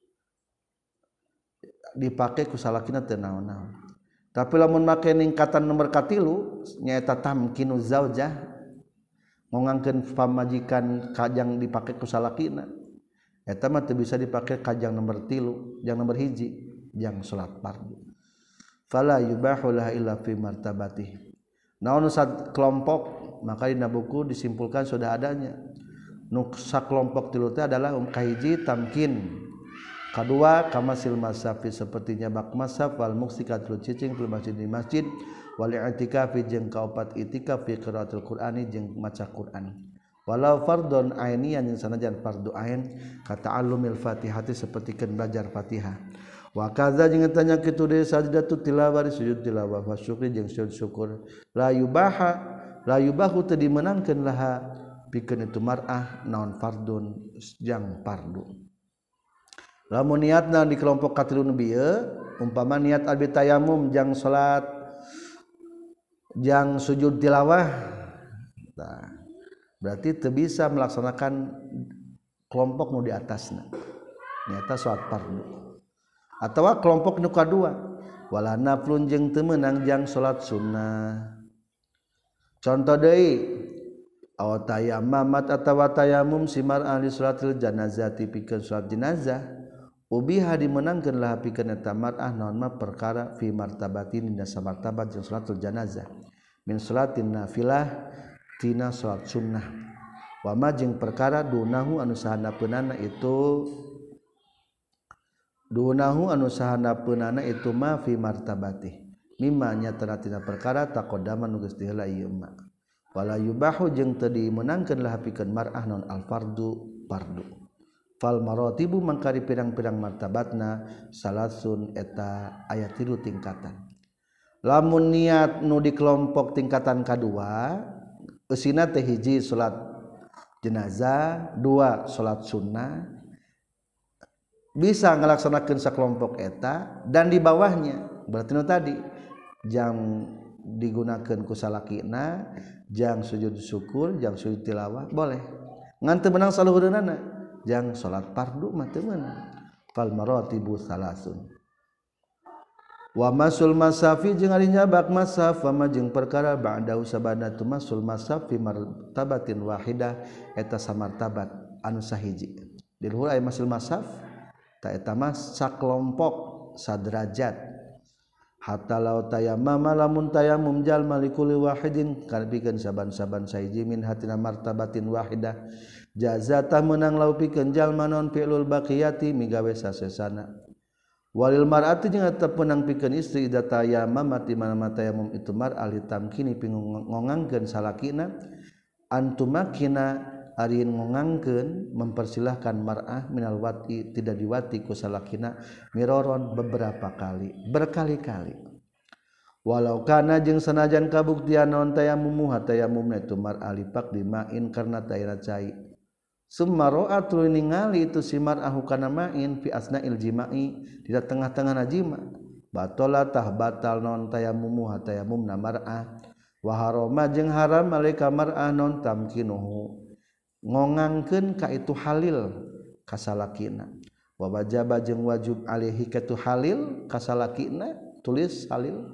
dipake ku salakina teu naon-naon tapi lamun make ningkatan nomor katilu nyaeta tamkinu zaujah ngongangkeun pamajikan kajang dipake ku salakina eta mah teu bisa dipake kajang nomor tilu jang nomor hiji jang salat fardu fala yubahu laha illa fi martabatih naon sad kelompok maka dina buku disimpulkan sudah adanya nu sakelompok tilu teh adalah um kahiji tamkin kadua kamasil masafi sepertinya bak masaf wal muksikatul cicing fil masjid di masjid wal i'tikafi jeung kaopat itikaf fi qiraatul qur'ani jeung maca Qur'an walau fardun ainian yang sanajan fardu ain kata alumil fatihati sepertikeun belajar Fatihah wa kaza jeung tanya kitu deui sajdatu tilawah sujud tilawah wa syukri jeung sujud syukur la yubaha la yubahu teu dimenangkeun laha pikeun itu mar'ah naon fardun jang fardu lamun niatna di kelompok katilu nu bieu umpama niat abi tayamum jang salat jang sujud tilawah tah berarti teu bisa melaksanakan kelompok nu di atasna nyata salat fardu atawa kelompok nu kadua wala naflun jeung teu meunang jang salat sunnah contoh deui aw tayammamat atawa tayamum simar ahli salatil janazati pikeun salat jenazah ubiha dimenangkeun lah pikeun eta mar'ah naon mah perkara fi martabatin dina samartabat jeung salatul janazah min salatin nafilah tina salat sunnah wa ma jeung perkara dunahu anu sahandapeunana itu dunahu anu sahandapeunana itu ma fi martabati mimma nyatana tina perkara taqaddama nu geus diheula ieu ma wala yubahu jeung teu dimeunangkeun lah pikeun mar'ah non al fardu fardu fal maratibu mangkari pirang-pirang martabatna salasun eta aya tilu tingkatan lamun niat nu di kelompok tingkatan kadua usina teh hiji salat jenazah dua salat sunnah bisa ngalaksanakeun sakelompok eta dan di bawahnya berarti nu tadi jang digunakeun ku salakina jang sujud syukur jang sujud tilawah boleh ngan teu meunang saluhureunana jang salat fardu mah teu meunang fal maratibu salasun wa masul masafi jeung ari nyabak masaf wa jeung perkara ba'da usabana tu masul masaf fi martabatin wahidah eta samartabat anu sahiji di luhur aya masul masaf ta eta mah sakelompok saderajat hatta law tayammama lamun tayammum jalma likulli wahidin kalbikeun saban-saban sahiji min hatina martabatin wahidah jazata meunang law pikeun jalma non fi'lul baqiyati migawe sasesana walil mar'ati jeung eta peunang pikeun istri ida tayammam di mana tayammum itu mar ahli tamkini pingongangkeun salakina antumakina ari ngongangkeun mempersilahkan mar'ah minal wati tidak diwati ku salakina miroron beberapa kali berkali-kali walau kana jeung sanajan kabuktian naon tayammum tayammumna itu mar ahli pak dimain karena daerah cai summa ra'at ningali itu si mar'ah kana main fi asna'il jima'i di tengah-tengah najima batala tah batal non tayammum tayammumna mar'ah wa harama jeung haram malaika mar'ah non tamkinuhu ngongangkeun ka itu halil ka salakina wa wajaba jeung wajib alaihi ka itu halil ka salakina tulis halil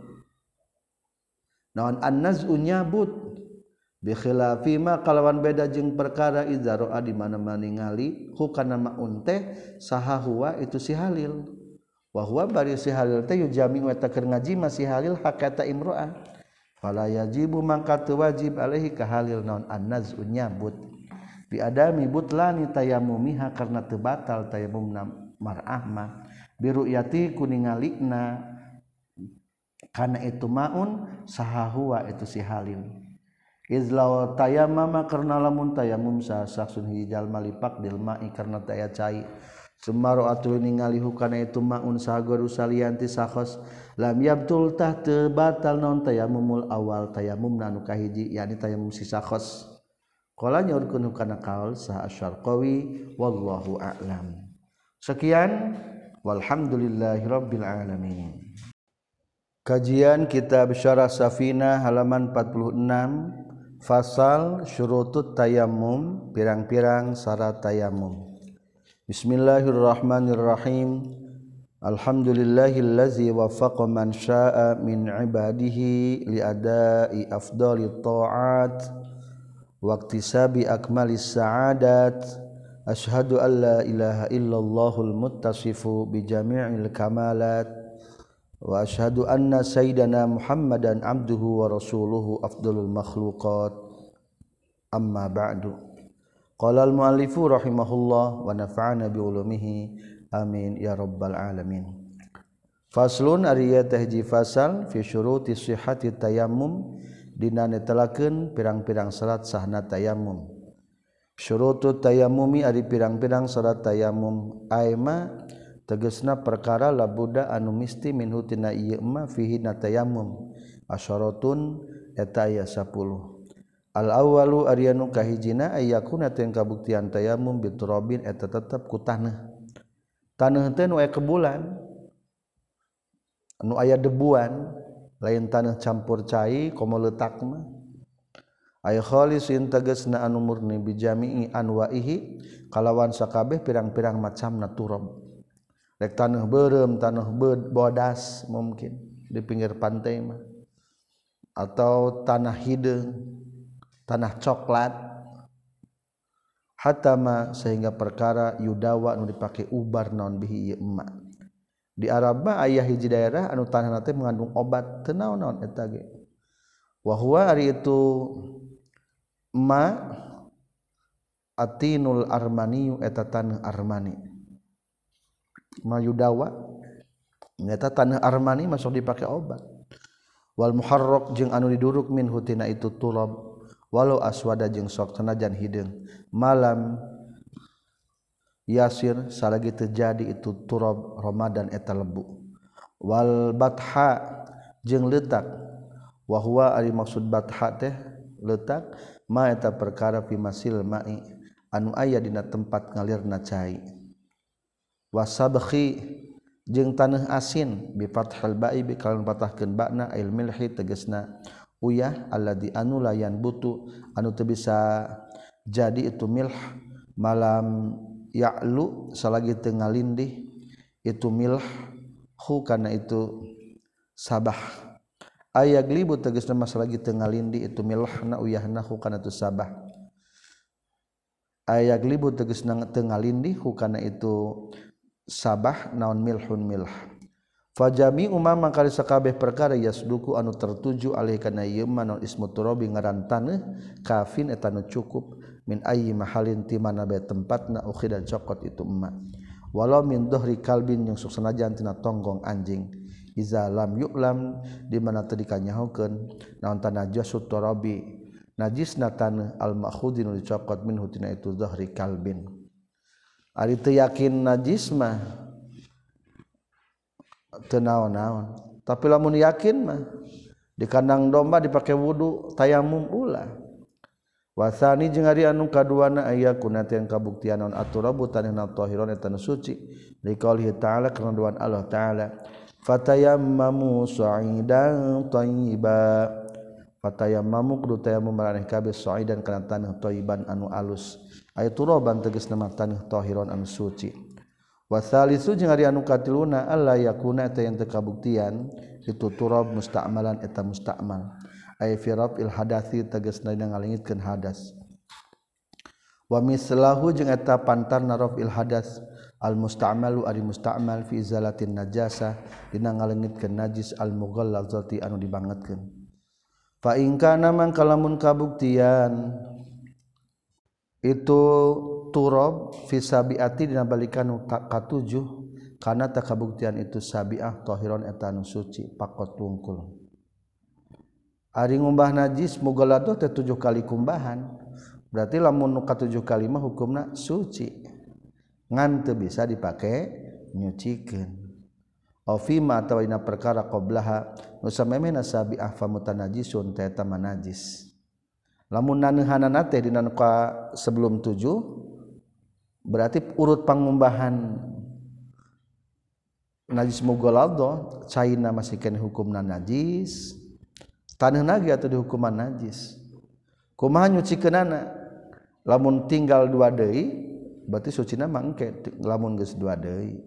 naon an-naz'u nyabut bi khilafi ma kalawan beda jeung perkara idza ra'a di mana-mana ningali hukana maun teh saha huwa itu si halil wa huwa bari si halil teh yujami wa takir ngaji masih halil hakata imro'ah fala yajibu mangka teu wajib alaihi ka halil naon an-naz'u nyabut bi adami butlani tayammumiha karena teu batal tayammumna mar'ah mah bi ru'yati kuningalikna kana itu maun saha huwa itu si halil izlaw tayammama karna lamun tayammum sa saksun hijal malipak dil ma'i karna taya cai sumaro atul ningali hukana itu maun sahagoru salianti sakhos lam yabtul tah teu batal naon tayammumul awal tayammumna anu kahiji yakni tayammum si sakhos qala nyaurkeun hukana qaul sa asyarqawi wallahu a'lam sekian walhamdulillahirabbil alamin. Kajian kitab Syarah Safinah halaman empat puluh enam fasal syurutut tayammum pirang-pirang syarat tayammum. Bismillahirrahmanirrahim. Alhamdulillahillazi waffaqa man syaa'a min ibadihi li adai afdalit ta'at wa iktisabi akmalis sa'adat. Asyhadu an la ilaha illallahul muttasifu bi jami'il kamalat wa asyhadu anna sayyidana Muhammadan abduhu wa rasuluhu afdalul makhluqat amma ba'du. Qala al-muallifu rahimahullah wa nafa'ana bi ulumihi amin ya rabbal alamin. Faslun ariya tahji fasal fi syuruti sihhati tayammum dina netelakeun pirang-pirang syarat sahna tayammum. Syurutut tayammumi ari pirang-pirang syarat tayammum aima tegesna perkara labuda anu misti minhu tina ieu ma fihi na tayammum asyaratun eta aya sepuluh. Al awwalu ari anu kahijina ayyakuna ten kabuktian tayammum biturabin eta tetep ku taneuh. Taneuh teh nu aya kebulan anu aya debuan lain taneuh campur cai komo leutak mah ay khalisin tegasna anu murni bijami'i anwa'ihi kalawan sakabeh pirang-pirang macamna turab rek taneuh beureum taneuh bodas mungkin di pinggir pantai mah atau tanah hideung tanah coklat hatama sehingga perkara yudawa anu dipake ubar naon bihi ieu emma di Arab mah aya hiji daerah anu tanahna teh mengandung obat teu naon-naon eta ge wa huwa ari itu ma atinul armaniyu eta taneuh armani mayudawa eta taneuh armani masuk dipake obat wal muharrak jeung anu diduruk min hutina itu turab walau aswada jeung sok sanajan hideung malam yasir salagi terjadi itu turab ramadan eta lebu wal batha jeung letak wa huwa ari maksud batha teh letak ma eta perkara fi masil ma'i anu aya dina tempat ngalirna cai wasabkhi jeung taneuh asin bi fathil ba'i bi kalawan patahkeun ba'na ail milhi tegasna uyah alladzi anu layan butu anu teu bisa jadi itu milh malam ya'lu salagi teu ngalindih itu milh hu kana itu sabah aya glibu tegasna mas lagi teu ngalindi itu milhna uyahna hu kana tu sabah aya glibu tegasna teu ngalindi hu kana itu sabah naon milhun milh fajami umama kali sakabeh perkara yasduku anu tertuju alih kana ieu naon ismu turabi ngaran taneuh kafin eta nu cukup min ayyi mahalin ti mana bae tempatna ukhida cokot itu emma walau min dhuhri kalbin yang suksanajan tina tonggong anjing iza lam yu'lam di mana teu dikanyahokeun naon tanajasut turabi najisna taneuh al ma'khudin dicokot minhu tina itu dhahri kalbin ari teu yakin najis mah teu naon-naon tapi lamun yakin mah di kandang domba dipake wudu tayamum ulah wasani jeung ari anu kaduana aya kunatian kabuktian naon aturabu taneuhna tahiron eta nu suci liqaulihi ta'ala kana doan Allah ta'ala fatayammamu sa'idan thayyiba fatayammamu kudu tayammum maraneh kabeh sa'idan kana taneuh thayyiban anu alus aya turaban tegasna mah taneuh tahiron anu suci wasalisu jeung ari anu katiluna alla yakuna eta yang teu kabuktian itu turab musta'malan eta musta'mal ay fi raf'il hadathi tegasna dina ngalingitkeun hadas wa mislahu jeung eta pantarna raf'il hadas al musta'malu ari musta'mal fi izalatin najasah dina ngalengitkeun najis al mughallazati anu dibangetkeun fa in kana mangka lamun kabuktian itu turab fi sabiati dina balikan katujuh kana ta kabuktian itu sabiah tahiron eta anu suci pakot wungkul ari ngumbah najis mughalladhah teh tujuh kali kumbahan berarti lamun nu katujuh kali mah hukumna suci ngan teu bisa dipake nyucikeun aw fima atawa dina perkara qablaha nu samemena sabiah famutanajisun teh eta najis lamun naneuhanana teh dina nu sebelum tujuh berarti urut pangumbahan najis mughalladhah caina masih kene hukumna najis taneuhna ge atuh dihukuman najis kumaha nyucikeunana lamun tinggal dua deui berarti sucina mah engke lamun geus dua deui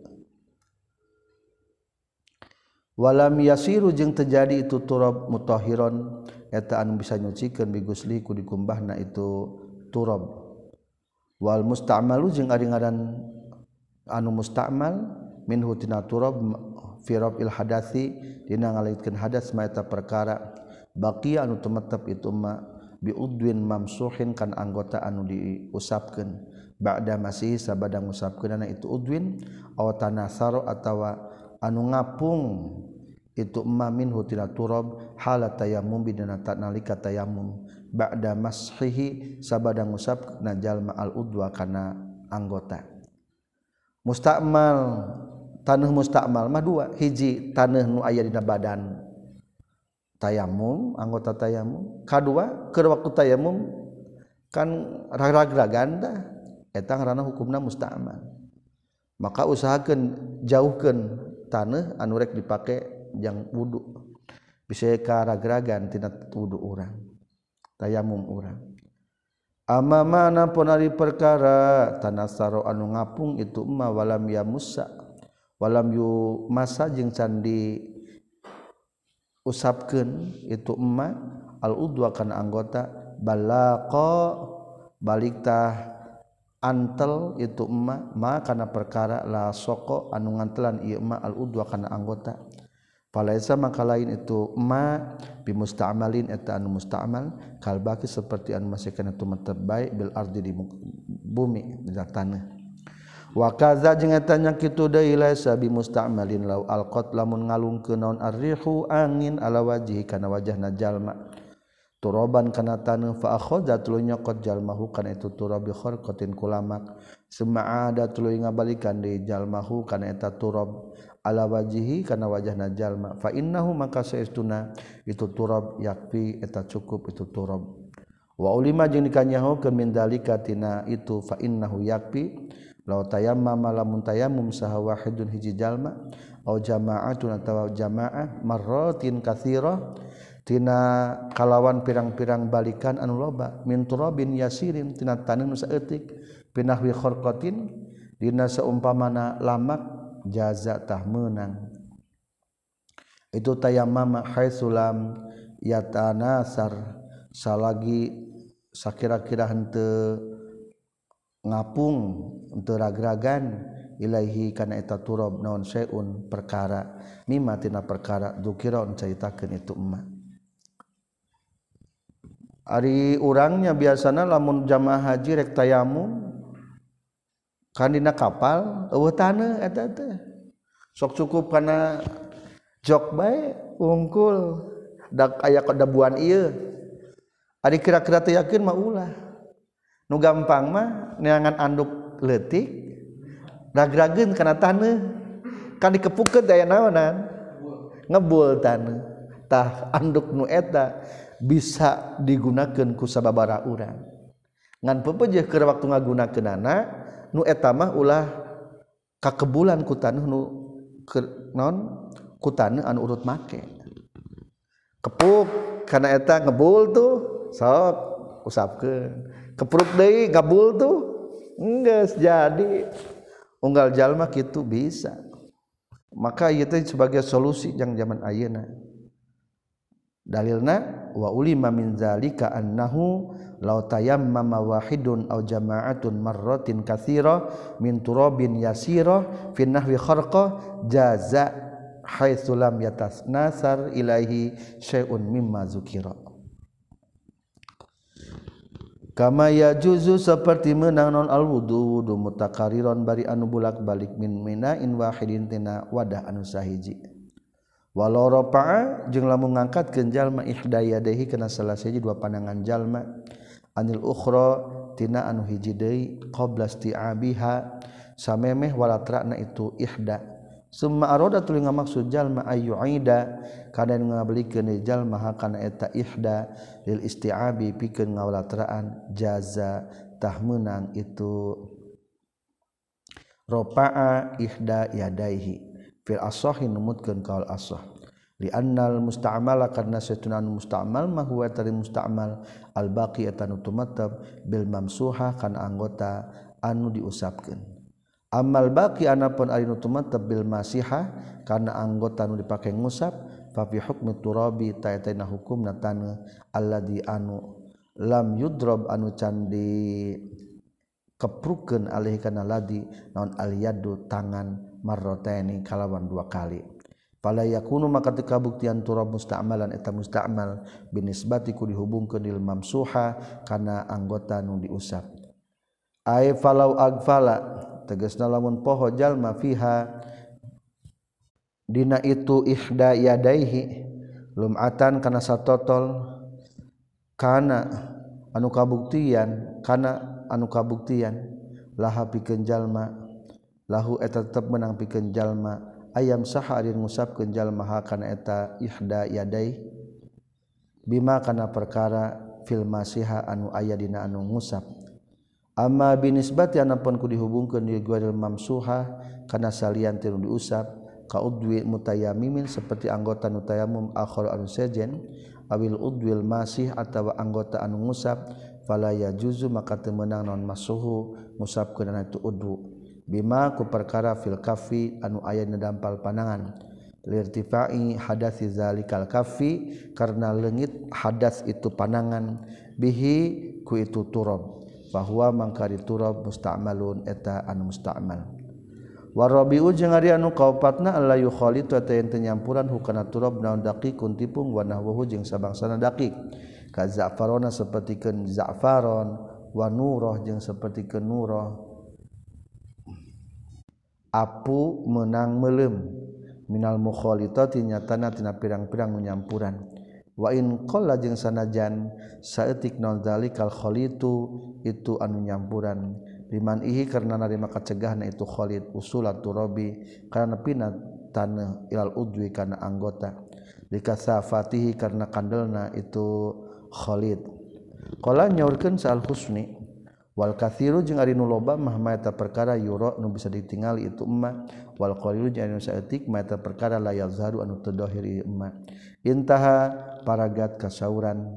walam yasiru jeung terjadi itu turab mutahhiron eta anu bisa nyucikeun bi gusli ku dikumbahna itu turab wal musta'malu jeung ari ngaran anu musta'mal minhu tina turab fi raf'il hadathi dina ngalaitkeun hadas ma eta perkara baqiya anu tumetep itu ma bi udwin mamsuhin kan anggota anu diusapkeun ba'da masih sabada ngusapkeunana itu udwin aw tanasaro atawa anu ngapung itu ma minhu tina turab halat tayammum bidana nalika tayammum ba'da mashihi sabada ngusapna jalma al udwa kana anggota musta'mal taneuh musta'mal mah dua hiji taneuh nu aya dina badan tayamum anggota tayamum kadua keur waktu tayamum kan ragrag-ragan tah eta ngaranna hukumna musta'mal maka usahakeun jauhkeun taneuh anu rek dipake jang wudu bisa ka ragragan tina wudu urang tayamum urang amamana pun ari perkara tanasaro anu ngapung itu emma walam ya musa walam yu masa jeung can di usapkeun itu emma al udwa kana anggota balaqa baliktah antel itu emma ma kana perkara la soko anu ngantelan ieu emma al udwa kana anggota falaisa maka lain itu ma bi musta'malin eta anu musta'mal kalbaki seperti anu masih kana tumetep bae bil ardi di bumi di tanah wa kaza jeung eta nya kitu deui laisa bi musta'malin law alqat lamun ngalungkeun naon arrihu angin ala wajhi kana wajahna jalma turaban kana taneuh fa akhadha tuluy nyokot jalmahu kana itu turab bi kharqatin kulamak suma'ada tuluy ngabalikan deui jalmahu kana eta turab ala wajihi kana wajahna jalma fa innahu maka saestuna itu turab yakfi eta cukup itu turab wa ulima jeung dikanyahokeun min dalika tina itu fa innahu yakfi law tayammama lamun tayammum saha wahidun hiji jalma au jama'atun atawa jamaah marratin katsirah tina kalawan pirang-pirang balikan anu loba min turabin yasirin tina taneuh nu saeutik pinahwi kharqatin dina saumpamana lamak jaza tah meunang itu tayammama haitsulam yatanasar salagi sakira-kira henteu ngapung henteu ragragan ilaihi kana eta turab naon syai'un perkara mimma tina perkara dzukira caritakeun itu emma ari urangnya biasana lamun jamaah haji rek tayamum kan dina kapal eueuh taneuh eta teh sok cukup kana jok bae ungkul dak aya kadabuan ieu ari kira-kira teh yakin mah ulah nu gampang mah neangan anduk leutik ragrageun kana taneuh kan dikepukeun daya naonan ngebul taneuh tah anduk nu eta bisa digunakeun ku sababaraha urang ngan pepeujeuh keur waktu ngagunakeunana nu eta mah ulah kakebulan ku taneuh nu naon ku taneuh anu urut make kepuk kana eta ngebul tuh sok usapkeun kepruk deui ngabul tuh enggeus jadi unggal jalma kitu bisa maka ieu teh sebagai solusi yang zaman ayeuna dalilna wa ulima min zalika annahu law tayammama wahidun aw jama'atun marratin katsira min turabin yasira fi nahwi kharqa jaza haitsu lam yatasnasar ilaihi syai'un mimma zukira kama yajuzu seperti meunang non al wudu wudu mutakariron bari anu bulak-balik min minain wahidin tina wadah anu sahiji walau rafa'a jeung lamun ngangkatkeun jalma ihdayadaihi kana salah sahiji dua pandangan jalma anil ukhra tina anu hiji deui qabla isti'abiha samemeh walatrana itu ihda summa arada tuluy ngamaksud jalma ayyuida kana ngabelikeun jalma hakana eta ihda lil isti'abi pikeun ngawalatraan jaza tah meunang itu rafa'a ihda yadaihi fil asahi numutkeun kaul asah li annal musta'mala karna satuna musta'mal ma huwa tari musta'mal al baqi atanu tumatab bil mamsuha kana anggota anu diusapkeun amal baqi anapun ari nu tumatab bil masiha kana anggota anu dipake ngusap fa fi hukmi turabi ta'atina hukumna taneuh alladzi anu lam yudrab anu can di keprukeun alih kana ladi naon aliyadu tangan marrataini kalawan dua kali fala yakunu maka teu kabuktian turab musta'malan eta musta'mal binisbati ku dihubungkeun lil mamsuha kana anggota nu diusap ai falau agfala tegasna lamun poho jalma fiha dina itu ihda yadaihi lumatan kana satotol kana anu kabuktian kana anu kabuktian laha pikeun jalma lahu eta tetep menang pikeun jalma ayam saha ari ngusapkeun jalma ha kana eta ihda yadai bima kana perkara fil masiha anu aya dina anu ngusap amma binisbati anapun ku dihubungkeun di ghairil mamsuha kana salian teu diusap ka udwi mutayammimin seperti anggota nu tayammum akhir anu sejen awil udwil masih atawa anggota anu ngusap fala yajuzu maka teu meunang naon masuhu ngusapkeun itu udwu bima ku perkara fil kafi anu aya dina dampal panangan lirtifai hadasi zalikal kafi karena leungit hadas itu panangan bihi ku itu turab bahwa mangkari turab musta'malun eta anu musta'mal warabiu jeung ari anu kaopatna alla yukhalitu eta yen teu nyampuran hukana turab naon daqiqun tipung wa nahwuhu jeung sabangsana daqiq ka za'farona sapertikeun za'faron wa nurah jeung sapertikeun nurah apu menang meleum minal mukhalitati nyatana tina pirang-pirang nyampuran wa in qalla jeung sanajan saeutik naon zalikal khalitu itu anu nyampuran liman ihi karna narima kacegahna itu khalid usulat turabi karena pina taneuh ilal udwi kana anggota likasafatihi karena kandelna itu khalid qala nyaurkeun sal husni wal katsiru jeung ari nu loba mah eta perkara yura nu bisa ditingali itu emma wal qalilu jeung anu saeutik mah eta perkara la yazharu anu teu dhahir ieu emma intaha paragat kasauran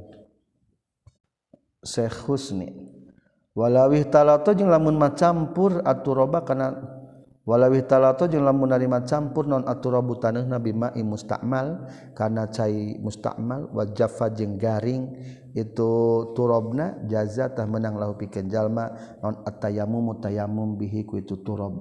Syekh Husni walawih talato jeung lamun macampur aturaba kana walawih talato jeung lamun narima campur non aturabu taneuna bima musta'mal kana cai musta'mal wa jaffa jeung garing itu turabna jaza tah menang lahu pikeun jalma non at-tayammum tayammum bihi ku itu turab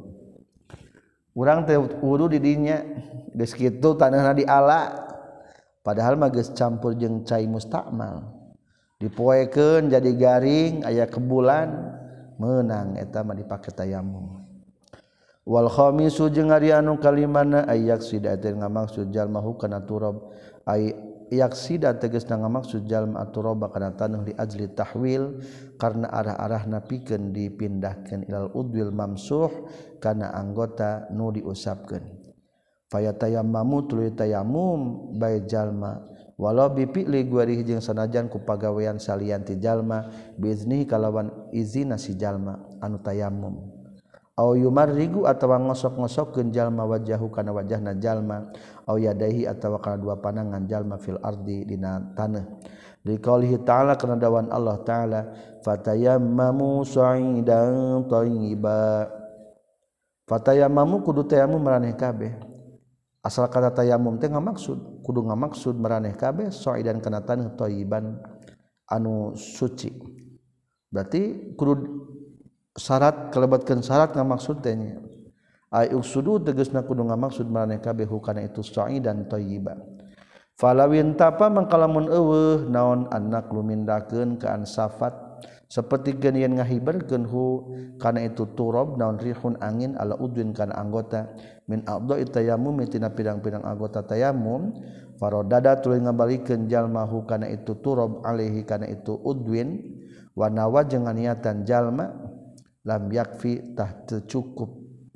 urang teh wudu di dinya geus kitu taneuna diala padahal mah geus campur jeung cai musta'mal dipoekeun jadi garing aya kebulan meunang eta mah dipake tayammum wal khamisu jeung ari anu kalimana ayak sida teh ngamaksud jalma hukana turab ay yaksida tegasna ngamaksud jalma aturaba kana taneuh li ajli tahwil karena arah-arahna pikeun dipindahkeun ilal udwil mamsuh kana anggota nu diusapkeun fayatayammamu tuluy tayammum bae jalma walau bipi'li guarih jeung sanajan ku pagawean salian ti jalma biizni kalawan izina si jalma anu tayammum au yumarrigu atawa ngosok-ngosokkeun jalma wajahu kana wajahna jalma au yadaihi atawa kana dua panangan jalma fil ardi dina taneuh liqaulihi ta'ala kana dawan Allah ta'ala fatayammamu sa'idan thayyiba fatayammamu kudu tayammum maraneh kabeh asal kata tayammum teh ngamaksud kudu ngamaksud maraneh kabeh sa'idan kana taneuh thayyiban anu suci berarti kudu syarat kelebatkeun syarat ngamaksud teh nya ai uksudu tegasna kudu ngamaksud maraneh kabeh hukana itu sa'idan thayyiban falawin tapa mangkalamun eueuh naon anak lumindakeun ka ansafat saperti geun yen ngahiberkeun hu kana itu turab naon rihun angin ala udwin kana anggota min a'dha'i tayammum tina pirang-pirang anggota tayammum faradada tuluy ngabalikeun jalma hu kana itu turab alaihi kana itu udwin wa nawa jeung niatan jalma lam yakfi tah teu cukup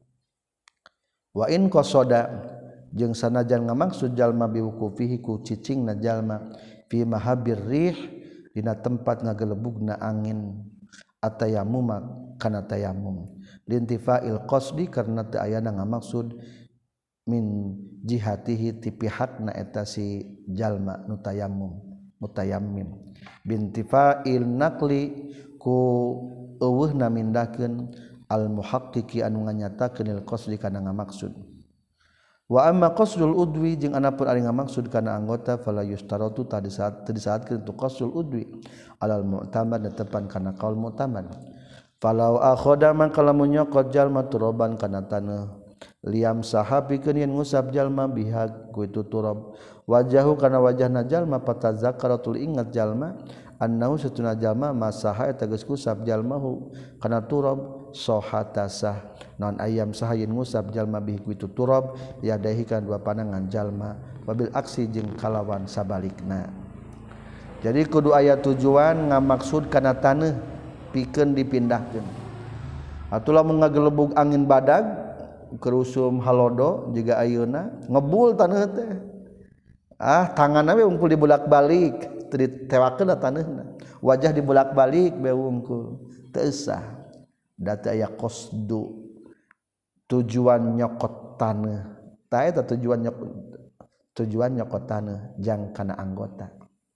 wa in qasada jeung sanajan ngamaksud jalma biwukufihi ku cicingna jalma fi mahabir rih dina tempat ngagelebugna angin atayammum kana tayammum lintifail qasdi karna teu aya ngamaksud min jihatihi ti pihakna eta si jalma nu tayammum mutayammim bintifail naqli ku eueuhna mindahkeun al muhaqqiqi anu nganyatakeun il qasdi kana ngamaksud wa amma qasdul udwi jeung anapun ari ngamaksud kana anggota fala yustaratu tadi saat tadi saatkeun tu qasdul udwi alal mu'tamad netepan kana qaul mu'tamad falau akhoda maka lamun nyokot jalma turaban kana taneuh liam sahabi keun ngusap jalma biha ku itu turab wajahu kana wajahna jalma patazakaratul ingat jalma annahu satuna jalma masaha eta geus kusap jalmahu kana turab sohatasah non ayam sahayin ngusap jalma bihi ku itu turab yadahi kana dua panangan jalma wabil aksi jeung kalawan sabalikna. Jadi kudu aya tujuan ngamaksud kana taneuh pikeun dipindahkeun. Atulah mun ngagelebug angin badag kerusum halodo juga ayeuna ngebul taneuh teh. Ah tanganna we ungkul dibulak-balik teu ditewakeun taneuhna. Wajah dibulak-balik we ungkul teu usah. Da teu aya qasdu tujuan nyokot taneuh. Tah eta tujuan nyokot tujuan nyokot taneuh jang kana anggota.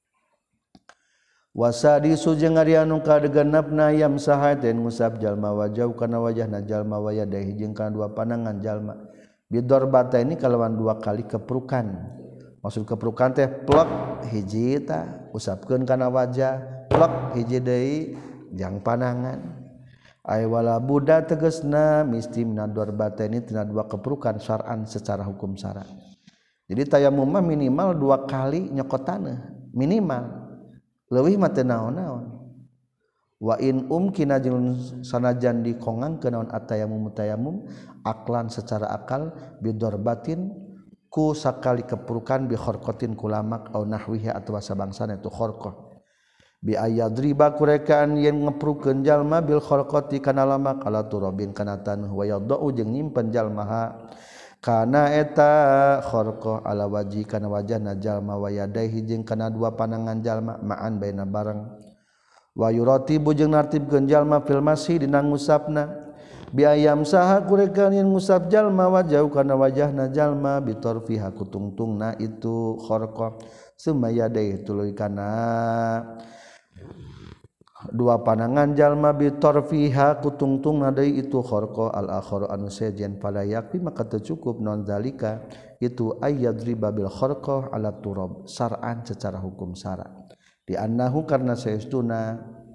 Wasadi sujeng ari anu kadegenepna yam sahaten ngusap jalma wajah kana wajahna jalma waya dahi jeung kana dua panangan jalma bidorbata ini kalawan dua kali keprukan. Maksud keprukan teh plek hiji ta usapkeun kana wajah plek hiji deui jang panangan ay wala buda tegasna misti minadarbata ini tina dua keprukan syar'an secara hukum syara. Jadi tayamum mah minimal dua kali nyokot taneuh minimal leuwih mah teu naon-naon. Wa in umkina jeung sanajan dikongangkeun naon atayamum tayamum aklan secara akal bidorbatin ku sakali keprukan bi kharqatin kulamak au nahwiha atawa sabangsana itu kharqah bi ayadriba kurekaan yen ngeprukeun jalma bil kharqati kana lamak ala turabin kana taneuh wa yadau jeung nyimpen jalma kana eta kharqah ala waji kana wajahna jalma wa yadaihi jeung kana dua panangan jalma ma'an baina bareng wa yuratibu jeung nartibkeun jalma fil masih dina ngusapna bi ayam saha kurekan yen ngusap jalma wajah kana wajahna jalma bitorfiha kutungtungna itu kharqah summa yadaihi tuluy kana dua panangan jalma bitorfiha kutungtungna deui itu kharqa al akharu anu sejen pada yakfi maka teu cukup non zalika itu ayyadriba bil kharqa ala turab syar'an secara hukum syara di annahu karna saestuna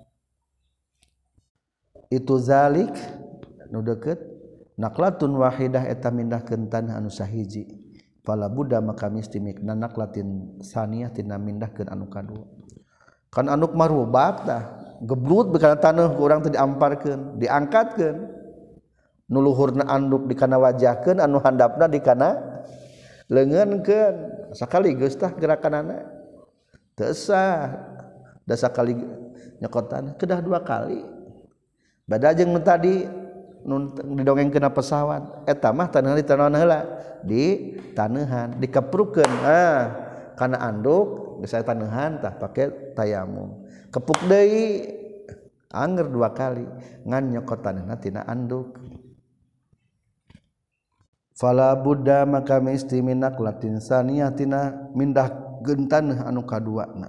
itu zalik nu deukeut naqlatun wahidah eta mindahkeun tanah anu sahiji fala budda maka misti mikna naqlatin saniyah tina mindahkeun anu kadua kan anu marubak tah geblut bekana taneuh ku urang teh diamparkeun diangkatkeun nu luhurna anduk di kana wajahkeun anu handapna di kana leungeunkeun sakaligus tah gerakanana teu sah da sakali nyokot taneuh kedah dua kali bada jeung nu tadi nu didongengkeun pesawat eta mah taneuh di taneuhan heula di taneuhan dikeprukeun ah kana anduk geus aya taneuhan tah pake tayamum kepuk deui anger dua kali ngan nyokot taneuhna tina anduk fala budda maka misti minak latin saniyah tina mindah gentaneuh anu kaduana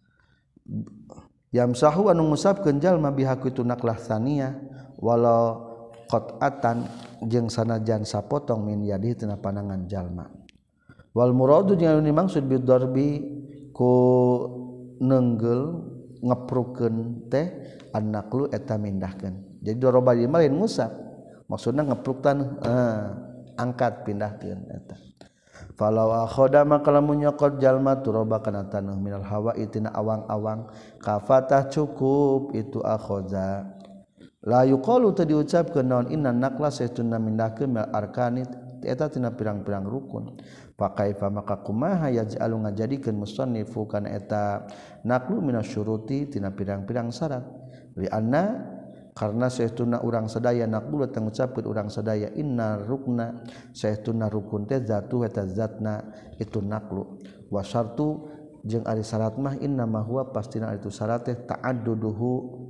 yamsahu anu ngusapkeun jalma bihaku itu naklah saniyah walau qat'atan jeung sanajan sapotong min yadi tina panangan jalma wal muradu jeung anu dimaksud bidarbi ku neunggel ngeprukeun teh annaqlu eta mindahkeun jadi doroba ieu lain ngusap maksudna ngepruk taneuh eh, angkat pindahkeun eta falau akhoda maka lamun nyokot jalma turoba kana taneuh minal hawa itina awang-awang kafatah cukup itu akhoza la yuqalu teu diucapkeun naon inna naqla saestuna mindahkeun mil arkani eta tina pirang-pirang rukun fa kaifa maka kumaha yaj'alu ngajadikeun musannifu kana eta naqlu minasyuruti tina pirang-pirang syarat li anna karna saestuna urang sadaya naqulu teh ngucapkeun urang sadaya inna rukna saestuna rukun teh zatu eta zatna itu naqlu wa syartu jeung ari syarat mah inna ma huwa pastina itu syarat teh ta'adduduhu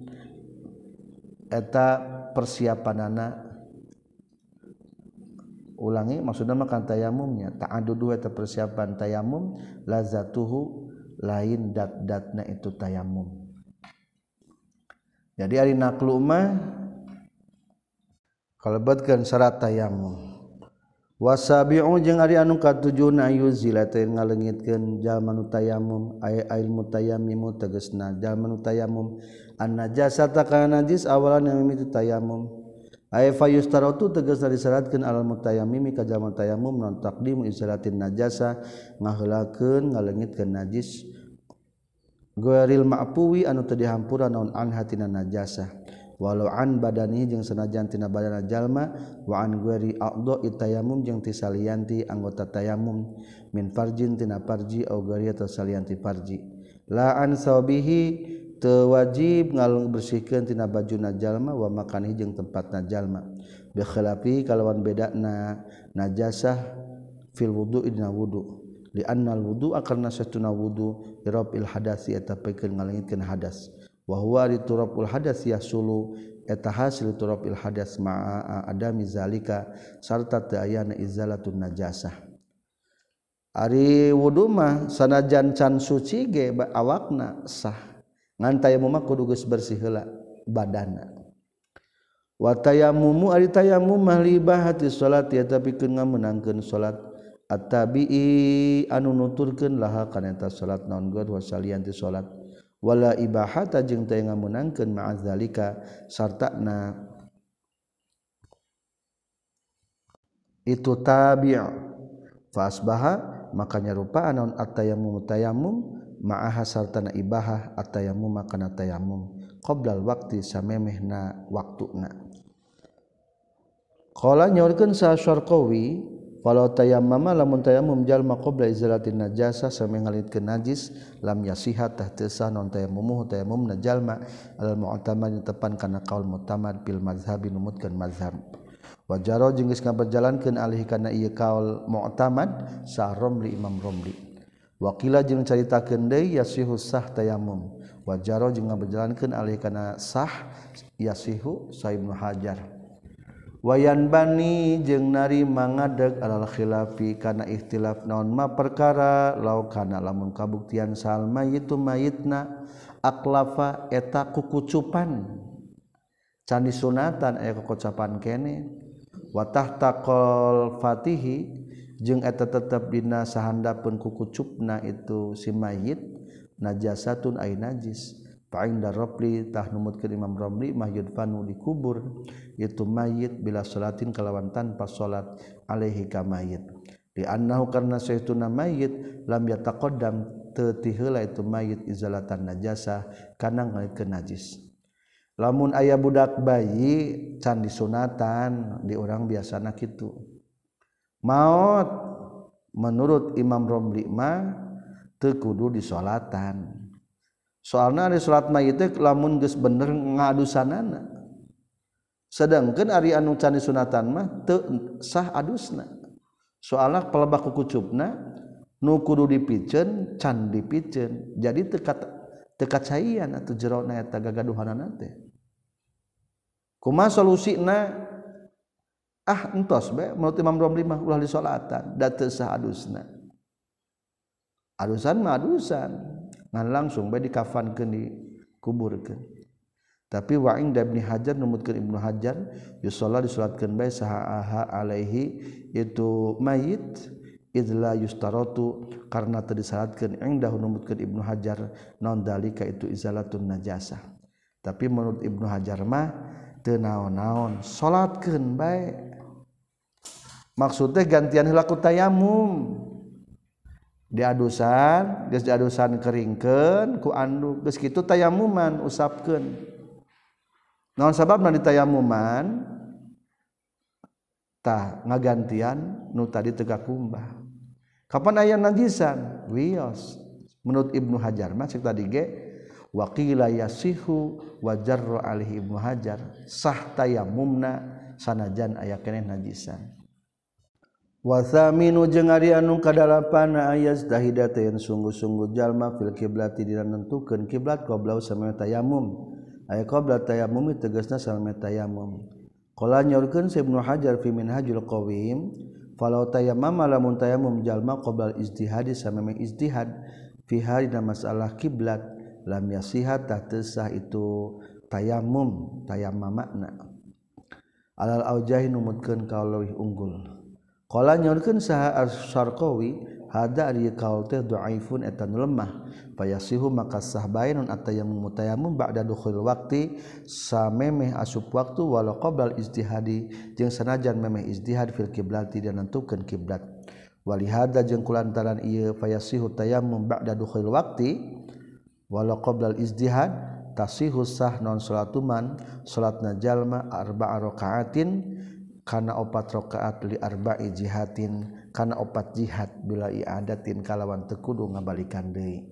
eta persiapanana ulangi maksudna mah kan tayamumnya ta'addudu eta persiapan tayamum lazatuhu lain dat-datna itu tayamum jadi ari naqlu mah kalebetkeun syarat tayamum wasabi'u jeung ari anu katujuna yuzila teh ngalengitkeun jalma nu tayamum ay ail mutayammim tegasna jalma nu tayamum an najasata kana najis awalan yang mimiti tayamum ay fayustaratu tegasna disyaratkeun alal mutayammim ka jalma tayamum non taqdimu izalatin najasa ngaheulakeun ngalengitkeun najis ghairil ma'puwi anu teu dihampura naon an hatina najasa walau an badani jeung sanajan tina badana jalma wa an ghairi a'dha'i tayammum jeung ti salianti anggota tayammum min farjin tina farji au ghairi atau salianti farji la an sabihi teu wajib ngabersihkeun tina bajuna jalma wa makanihi jeung tempatna jalma bi khilafi kalawan bedana najasah fil wudu'i dina wudu li annal wudu'a karna satuna wudu irafil hadasi eta pikeun ngalengitkeun hadas wa huwa riturabul hadas yasulu eta hasil turabil hadas ma'a adami zalika sarta teu aya izalatun najasah ari wudu mah sanajan can suci ge awakna sah ngan tayammum mah kudu geus bersih heula badanna wa tayammumu ari tayammum mah libahati salat ya tapi keun ngameunangkeun salat at-tabi'i anu nuturkeun laha kana eta salat naon god wa salianti salat wala ibahata jeung teu ngameunangkeun ma'azalika sartana itu tabi' fa asbaha maka nyarupa naon at-tayammum tayammum ma'aha sartana ibahah at-tayammum kana tayammum qoblal waqti samemehna waktuna qala nyaurkeun sa Syarqawi walau tayammama lamun tayammum jalma qabla izalatin najasa sampai ngalitkeun najis lam yasihat tah teu sah non tayammum tayammum jalma al mu'tamad tepan kana qaul mu'tamad bil mazhabi numutkeun mazhab wa jaro jeung geus ngaberjalankeun alih kana ieu qaul mu'tamad sa Romli Imam Romli wa qila jeung caritakeun deui yasihu sah tayammum wa jaro jeung ngaberjalankeun alih kana sah yasihu sa Ibnu Hajar wayan bani jeung nari mangadeg alal khilafi kana ikhtilaf naon ma perkara law kana lamun kabuktian sal mayitu mayitna aklafa eta kukucupan can disunatan aya kukucupan kene wa tahtaqal fatihi jeung eta tetep dina sahandapeun kukucupna itu si mayit najasatun ay najis paing darabli tah numutkeun Imam Ramli mah yudfanu dikubur itu mayit bila salatin kalawan tanpa salat alaihi ka mayit di annahu karna sayyiduna mayit lam yataqaddam teu ti heula itu mayit izalatan najasa kana ngalitkeun najis lamun aya budak bayi can disunatan di urang biasana kitu maot menurut Imam Ramli mah teu kudu disolatan soalna ari salat mayit teh lamun geus bener ngadusanana sedangkeun ari anu can disunatan mah teu sah adusna soalna pelebah kukucupna nu kudu dipikeun can dipikeun jadi teu teu kacayan atuh jerona eta gagaduhanana teh kumaha solusina ah entos bae menurut Imam Ramli mah ulah disolatan da teu sah adusna adusan mah adusan ngan langsung bae dikafankeun dikuburkeun tapi wa inda Ibnu Hajar numutkeun Ibnu Hajar yusalla disalatkeun bae saha alaihi itu mayit idla yustaratu karna teu disalatkeun inda numutkeun Ibnu Hajar naon dalika itu izalatun najasah tapi menurut Ibnu Hajar mah teu naon-naon salatkeun bae maksudnya gantian heula ku tayammum diadusan geus diadusan keringkeun ku anduk geus kitu tayammuman usapkeun naon sababna ditayammuman tah ngagantian nu tadi teu kakumbah kapan aya najisan wios menurut Ibnu Hajar mah cek tadi ge waqila yasihu wa jarra alaihi Ibnu Hajar sah tayammumna sanajan aya keneh najisan wa thaminu jeung ari anu kadalapan ayaz dahidata yang sungguh-sungguh jalma fil kiblati dina nentukeun kiblat qabla samana tayammum aya qabla tayammum tegasna samana tayammum qala nyaurkeun Ibnu Hajar fi Minhajul Qawim falau tayammama lamun tayammum jalma qabla ijtihad samana ijtihad fi hadina masalah kiblat lam yasihat tasah itu tayammum tayammamna alal aujahi numutkeun ka leuwih unggul qala nyorkeun saha As-Syarqawi hada ari qaul teh dhaifun eta nu lemah fayasihu maka sah bainun atayammum mutayammum ba'da dukhul waqti samemeh asup waktu walau qabla ijtihadi jeung sanajan memeh ijtihad fil qiblati dan nentukeun kiblat walihada jeung kulantaran ieu fayasihu tayammum ba'da dukhul waqti walau qabla ijtihad tasihu sah non salatuman salatna jalma arba'a rakaatin kana opat rakaat li arba'i jihatin kana opat jihad bila i'adatin kalawan teu kudu ngabalikan deui.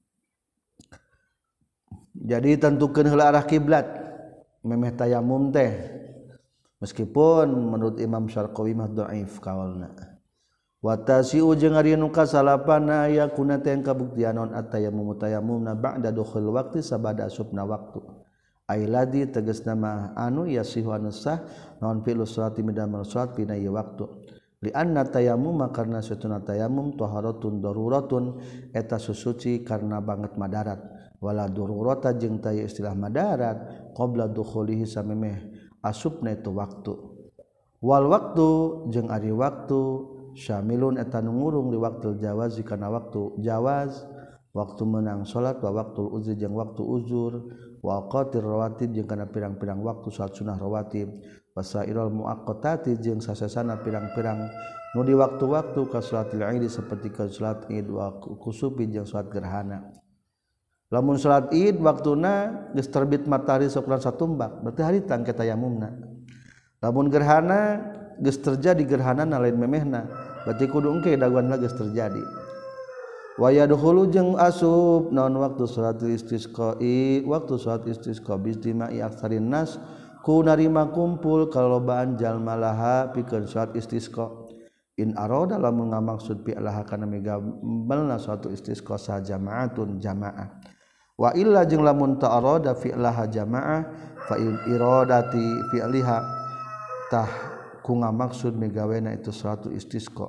Jadi tentukeun heula arah kiblat memeh tayamum teh meskipun menurut Imam Syarqawi mah dhaif kaulna. Wa tasi'u jeung ari nu kasalapana aya kuna teh kabuktianon at-tayammum tayammumna ba'da dukhul waqti sabada asupna waktu. Ailadi tegasna mah anu yasihu anu sah naon fi'lu sholati midamel sholat pina ieu waktu li anna tayammum karna satuna tayammum taharatun daruratun eta susuci karna banget madarat wala darurata jeung taya istilah madarat qabla dukhulihi samemeh asupna itu waktu wal waktu jeung ari waktu syamilun eta nu ngurung li waqtul jawaz kana waktu jawaz waktu menang salat wa waqtul uzur jeung waktu uzur wa awqatir rawatib jeung kana pirang-pirang waktu salat sunah rawatib wasairul muaqqatati jeung sasasana pirang-pirang nu di waktu-waktu ka salatil Id saperti ka salat Id wa kusufi jeung salat gerhana. Lamun salat Id waktuna geus terbit matahari sakuran satumbak berarti haritan ke tayamumna. Lamun gerhana geus terjadi gerhanana lain memehna berarti kudu engke daguanna geus terjadi. Wa yadkhulu jeung asub naon waktu salat istisqa'i waktu salat istisqa bistima'i aktsarin nas ku narima kumpul kalobaan jalma laha pikeun salat istisqa in arada lamun ngamaksud fi laha kana migambalna suatu istisqa sa jamaatun jamaah wa illa jeung lamun ta arada fi laha jamaah fa in iradati fi liha tah ku ngamaksud migawena itu suatu istisqa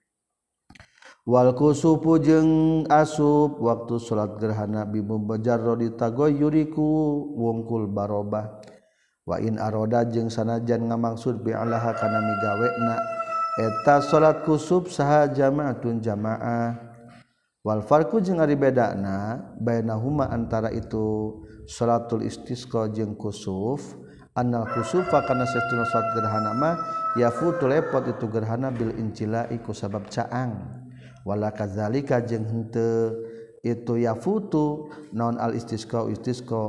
wal kusufu jeung asub waktu salat gerhana bi mujarradi tagoyyuriku wungkul barobah wa in aroda jeung sanajan ngamaksud bi alaha kana migawena eta salat kusuf saha jamaatun jamaah wal farqu jeung ari bedana bainahuma antara itu salatul istisqa jeung kusuf annal kusufa kana satuna salat gerhana mah yafutu lepot itu gerhana bil incilai ku sabab caang wala kadzalika jeung henteu itu yafutu naon al istisqa istisqa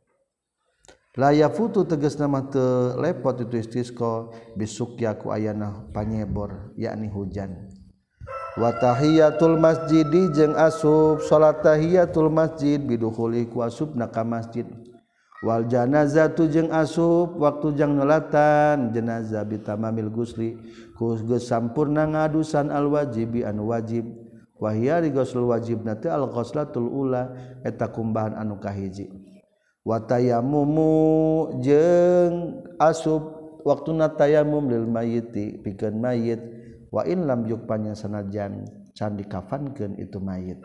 la yafutu tegasna mah teu lepot itu istisqa bisukya ku ayana panyebor yakni hujan wa tahiyatul masjidi jeung asub salat tahiyatul masjid bidukhuli ku asubna ka masjid wal janazatu jeung asub waktu jang nolatan jenazah bitamamil gusli ku geus sampurna ngadusan al wajibi anu wajib wa hiya ghusl wajibna teh al ghuslatul ula eta kumbahan anu kahiji wa tayammumu jeung asub waktuna tayammum lil mayyiti pikeun mayit wa in lam yukpanya sanajan can dikafankeun itu mayit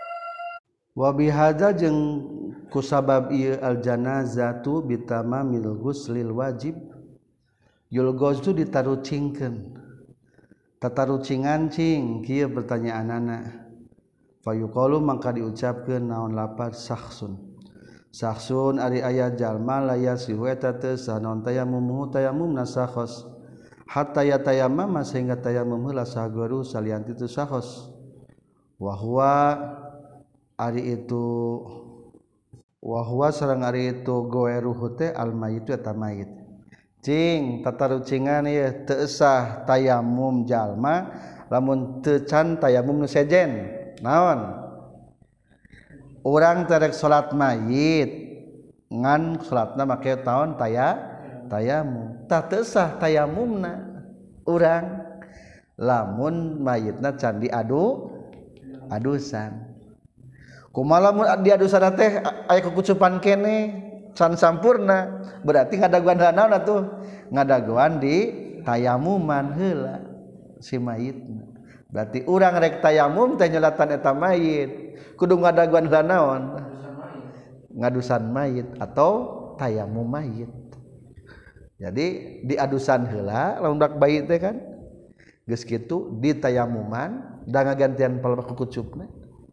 wa bihadza jeung kusabab ieu al janazatu bitamamil ghuslil wajib yulghazu ditarucingkeun tatarucingan cing kieu pertanyaanana fayuqalu mangka diucapkeun naon lapar sakhsun sakhsun ari aya jalma laya sihu eta teu sanon tayammum tayammum nasakhos hatta yatayammam sehingga tayammum heula sahagaru salianti teu sakhos wa huwa ari itu wahwa sareng ari itu goeruhu teh al mayyitu eta mayit cing tatarucingan ieu teu sah tayamum jalma lamun teu can tayamum nu sejen naon urang terek salat mayit ngan salatna make taon taya tayamum tah teu sah tayamumna urang lamun mayitna can diadu adusan kumaha lamun diadusan teh aya kukucupan kene can sampurna berarti ngadaguan naon atuh ngadaguan di tayamuman heula si mayitna berarti urang rek tayamum teh nyelatan eta mayit kudu ngadaguan naon ngadusan mayit atau tayamum mayit jadi diadusan heula lamun dak bayi teh kan geus kitu di tayamuman da ngagantian palebah kukucupna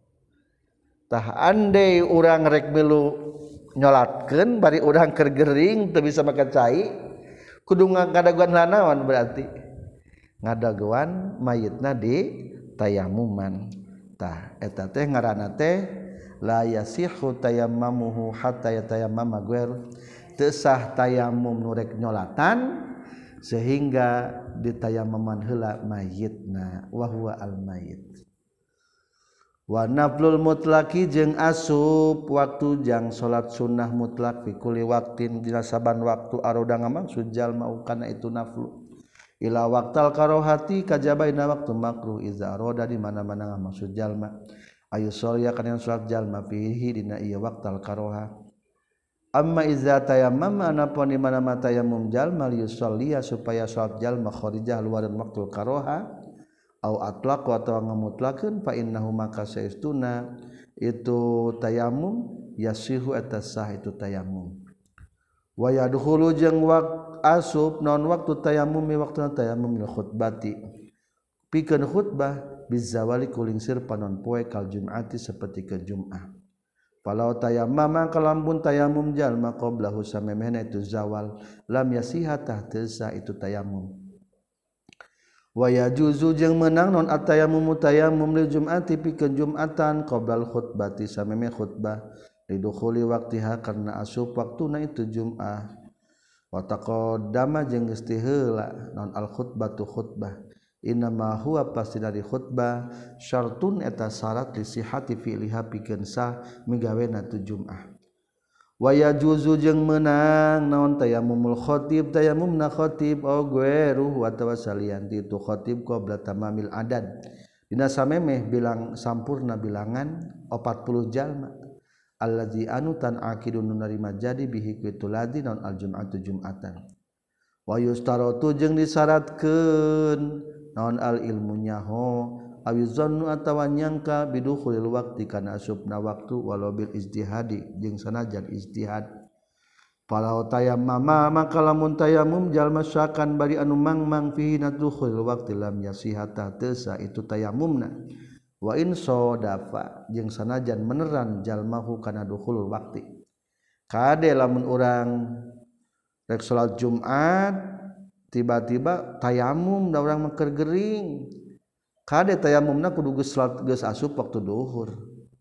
tah andai urang rek milu nyolatkeun bari urang keur gering teu bisa make cai kudu ngadaguan lanaon berarti ngadaguan mayitna di tayamuman tah eta teh ngaranna teh la yasihu tayammamuhu hatta yatayammama ghairu teu sah tayamum nu rek nyolatan sehingga ditayammaman heula mayitna wa huwa al mayit wa naflul mutlaqi jeung asup waktu jang salat sunnah mutlak fi kulli waqtin dina saban waktu aroda ngamaksud jalma kana itu naflu ila waqtal karohati kajabaina waktu makruh iza aroda di mana-mana ngamaksud jalma ayu sholya kana salat jalma fihi dina ieu waqtal karoha amma iza tayammama anapun di mana-mana tayammum jalma liusollia supaya salat jalma kharijah luar waqtul karoha au atlaq atau ngamutlakeun fa innahu maka saestuna itu tayammum yasihu atasah itu tayammum wa yadkhulu jeung waqt asub non waktu tayammum mi waktu tayammum li khutbati pikeun khutbah bizawali kulingsir panon poe kal jum'ati saperti ke Jumat falau tayammama kalambun tayammum jalma qablahu samemehna itu zawal lam yasiha tahtesa itu tayammum wa yajuzu jeung meunang non atayammum tayammum lil jum'ati pikeun Jumatan qablal khutbati samemeh khutbah lidukhuli waqtiha karna asub waktuna itu Jum'ah wa taqaddama jeung geus ti heula naon al khutbatu khutbah innama huwa pasti dari khutbah syartun eta syarat li sihhati fi'liha pikeun sah migawena tu Jum'ah wa yajuzu jeung meunang naon tayammumul khatib tayammumna khatib au ghairuh wa tawasalian itu khatib qabla tamamil adad dina samemeh bilang sampurna bilangan empat puluh jalma allazi anutan akidun narima jadi bihi kitu ladzi naon aljum'atu jum'atan wa yustaratu jeung disyaratkeun naon al ilmunya ho awizannu atawa nyangka bidukhulil waqti kana asupna waktu walau bil ijtihadi jeung sanajan ijtihad palau tayammama maka lamun tayammum jalma syakan bari anu mangmang fihi nadkhulil waqti lam yasihata tesa itu tayammumna wa in sodafa jeung sanajan meneran jalmahu kana dukhulul waqti kade lamun urang rek salat Jumat tiba-tiba tayammum da urang mah keur gering kade tayammumna kudu geus salat geus asup waktu duhur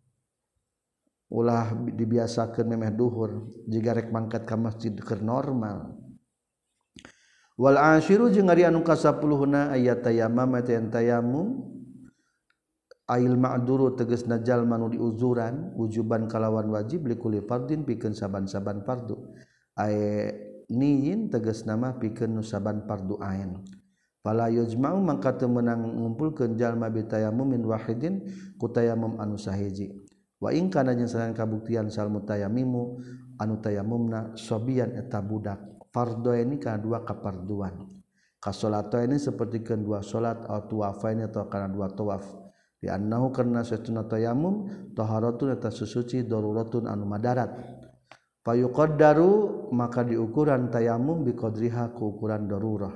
ulah dibiasakeun memeh duhur jiga rek mangkat ka masjid keur normal wal ashiru jeung ari anu kasapuluhna ayat tayammum tayammum ail ma'duru tegasna jalma nu diuzuran wujuban kalawan wajib likuli fardin pikeun saban-saban fardu ay niyin tegasna mah pikeun nu saban fardu ain fala yujma'u mangka teu meunang ngumpulkeun jalma bi tayammumin wahidin ku tayammum anu sahiji wa in kana jeung sanajan kabuktian sal mutayammimu anu tayammumna sobian eta budak fardu ini kana dua kaparduan ka salat ini sapertikeun dua salat atau tawafain atau kana dua tawaf di annahu karna satuna tayammum taharatun eta susuci daruratun anu madarat fayuqaddaru maka diukuran tayammum biqadriha ku ukuran darurah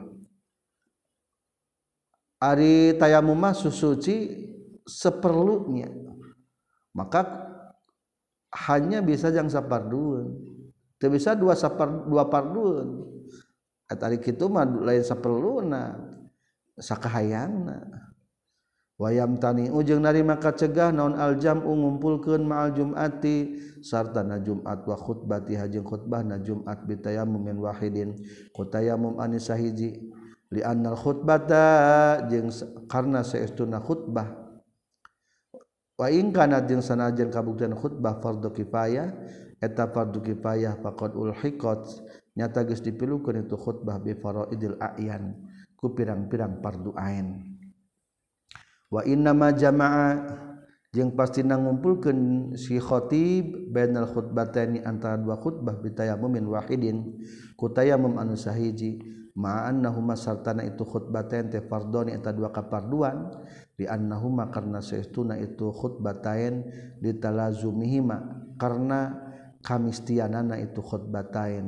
ari tayammum mah susuci seperlunya maka hanya bisa jang sapardueun teu bisa dua sapar dua pardueun eta ari kitu mah lain saperluna sakahayangna wayam tani ujung narima kacegah naon aljam'u ngumpulkeun ma'al jum'ati sartana Jumat wa khutbati jeung khutbahna Jumat bi tayammumin wahidin ku tayammum anu sahiji li annal khutbata jeung karna saestuna khutbah wa in kana jeung sanajan kabuktian khutbah fardhu kifayah eta fardhu kifayah faqad ulhiqat nyata geus dipilukeun itu khutbah bi faraidil a'yan ku pirang-pirang fardu ain wa inna ma jama'a jeung pastina ngumpulkeun si khatib bainal khutbataini antara dua khutbah bi tayammumin wahidin ku tayammum anu sahiji ma annahuma sartana itu khutbatain te fardhoni eta dua kaparduan di annahuma karna saestuna itu khutbatain ditalazumihima karna kamistianana itu khutbatain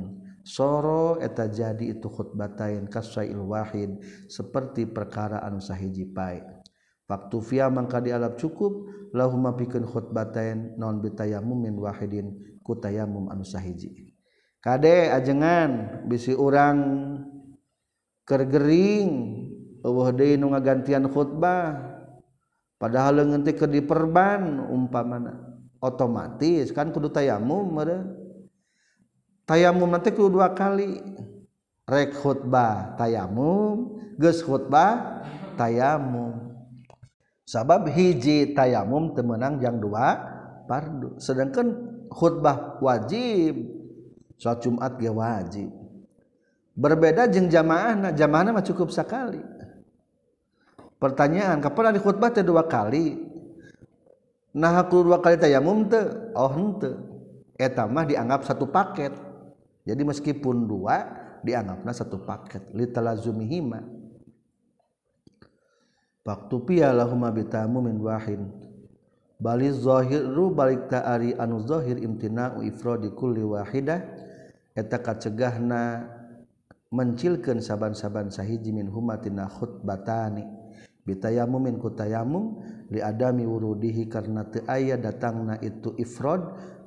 soro eta jadi itu khutbatain kasail wahid seperti perkara anu sahiji pae waktu via mangka dialap cukup lahum pikeun khutbatain non bitayamum min wahidin ku tayamum anu sahiji kade ajengan bisi urang keur gering eueuh deui nu ngagantian khutbah padahal leungeun teh keur diperban umpamana otomatis kan kudu tayamum meureun tayamum nanti kudu dua kali rek khutbah tayamum geus khutbah tayamum sabab hiji tayamum teu meunang jang dua fardu sedangkan khutbah wajib salat Jumat ge wajib berbeda jeung jamaahna jamaahna mah cukup sakali pertanyaan kapan di khutbah teh dua kali nah kudu dua kali tayamum teu oh henteu eta mah dianggap satu paket jadi meskipun dua dianggapna satu paket litalazumihima waktu pia lahuma bitamu min wahin baliz zahiru balik ta'ari anu zahir imtina'u ifradi kulli wahidah eta kacegahna mencilkeun saban-saban sahiji min humatina khutbatani bitayamumin kutayamum li adami wurudihi karna teu aya datangna itu ifrad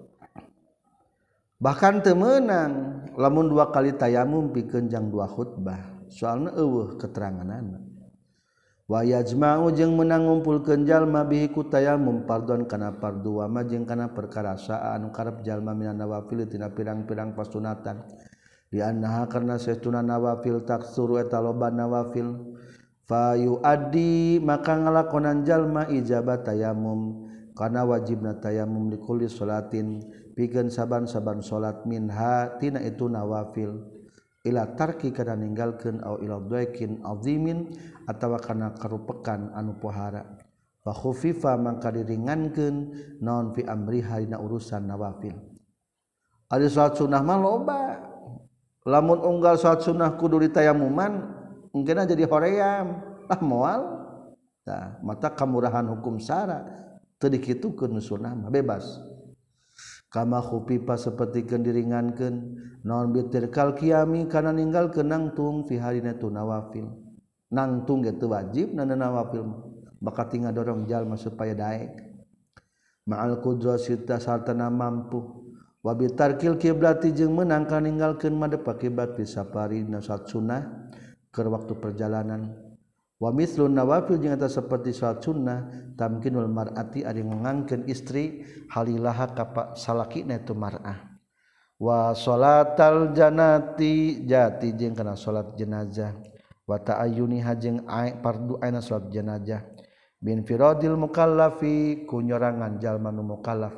bahkan teu meunang lamun dua kali tayamum pikeun jang dua khutbah soalna eueuh keteranganana wa yajma'u jeung meunang ngumpulkeun jalma bihi ku tayamum fardhon kana fardu wa ma jeung kana perkara saa anu karep jalma minan nawafil tina pirang-pirang pasunatan di annaha karna saestuna nawafil taksuru eta loba nawafil fa yuaddi maka ngalakonan jalma ijabat tayamum kana wajibna tayamum likulli salatin pikeun saban-saban salat minha tina itu nawafil ila tarki kana ninggalkeun au ila dhaikin azimin atawa kana karupekan anu pohara fa khufifa mangka diringankeun naon fi amriha dina urusan nawafil ari salat sunah mah loba lamun unggal salat sunah kudu ditayamuman mungkin jadi hoream lah moal tah mata kamurahan hukum syara teu dikitukeun sunah mah bebas kama khufifa sapertikeun diringankeun naon bitirkal qiyami kana ninggalkeun nangtung fi harina tu nawafil nangtung ge teu wajib na nawafil bakal tinggal dorong jalma supaya daek ma'al qudrasi tasartana mampu wa bitarkil qiblati jeung meunang ka ninggalkeun madep kiblat fi safari salat sunnah keur waktu perjalanan wa mislun nawafil jeung eta saperti salat sunnah tamkinul mar'ati ari ngangkeun istri halilaha ka salakina itu mar'ah wa sholatal janati jati jeung kana salat jenazah wa ta'ayyuni hajeng fardu aina salat jenazah bin firadil mukallafi kunyorangan jalma nu mukallaf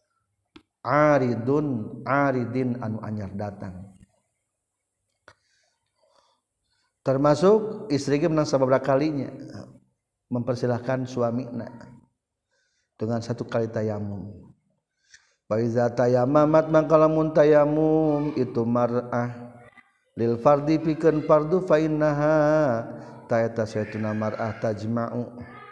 aridun aridin anu anyar datang termasuk istri ge menang sababaraha kalinya mempersilahkan suamina dengan satu kali tayamum wa iza tayammamat mangka lamun tayamum itu mar'ah lil fardi pikeun fardu fa innaha ta eta saytuna mar'ah tajma'u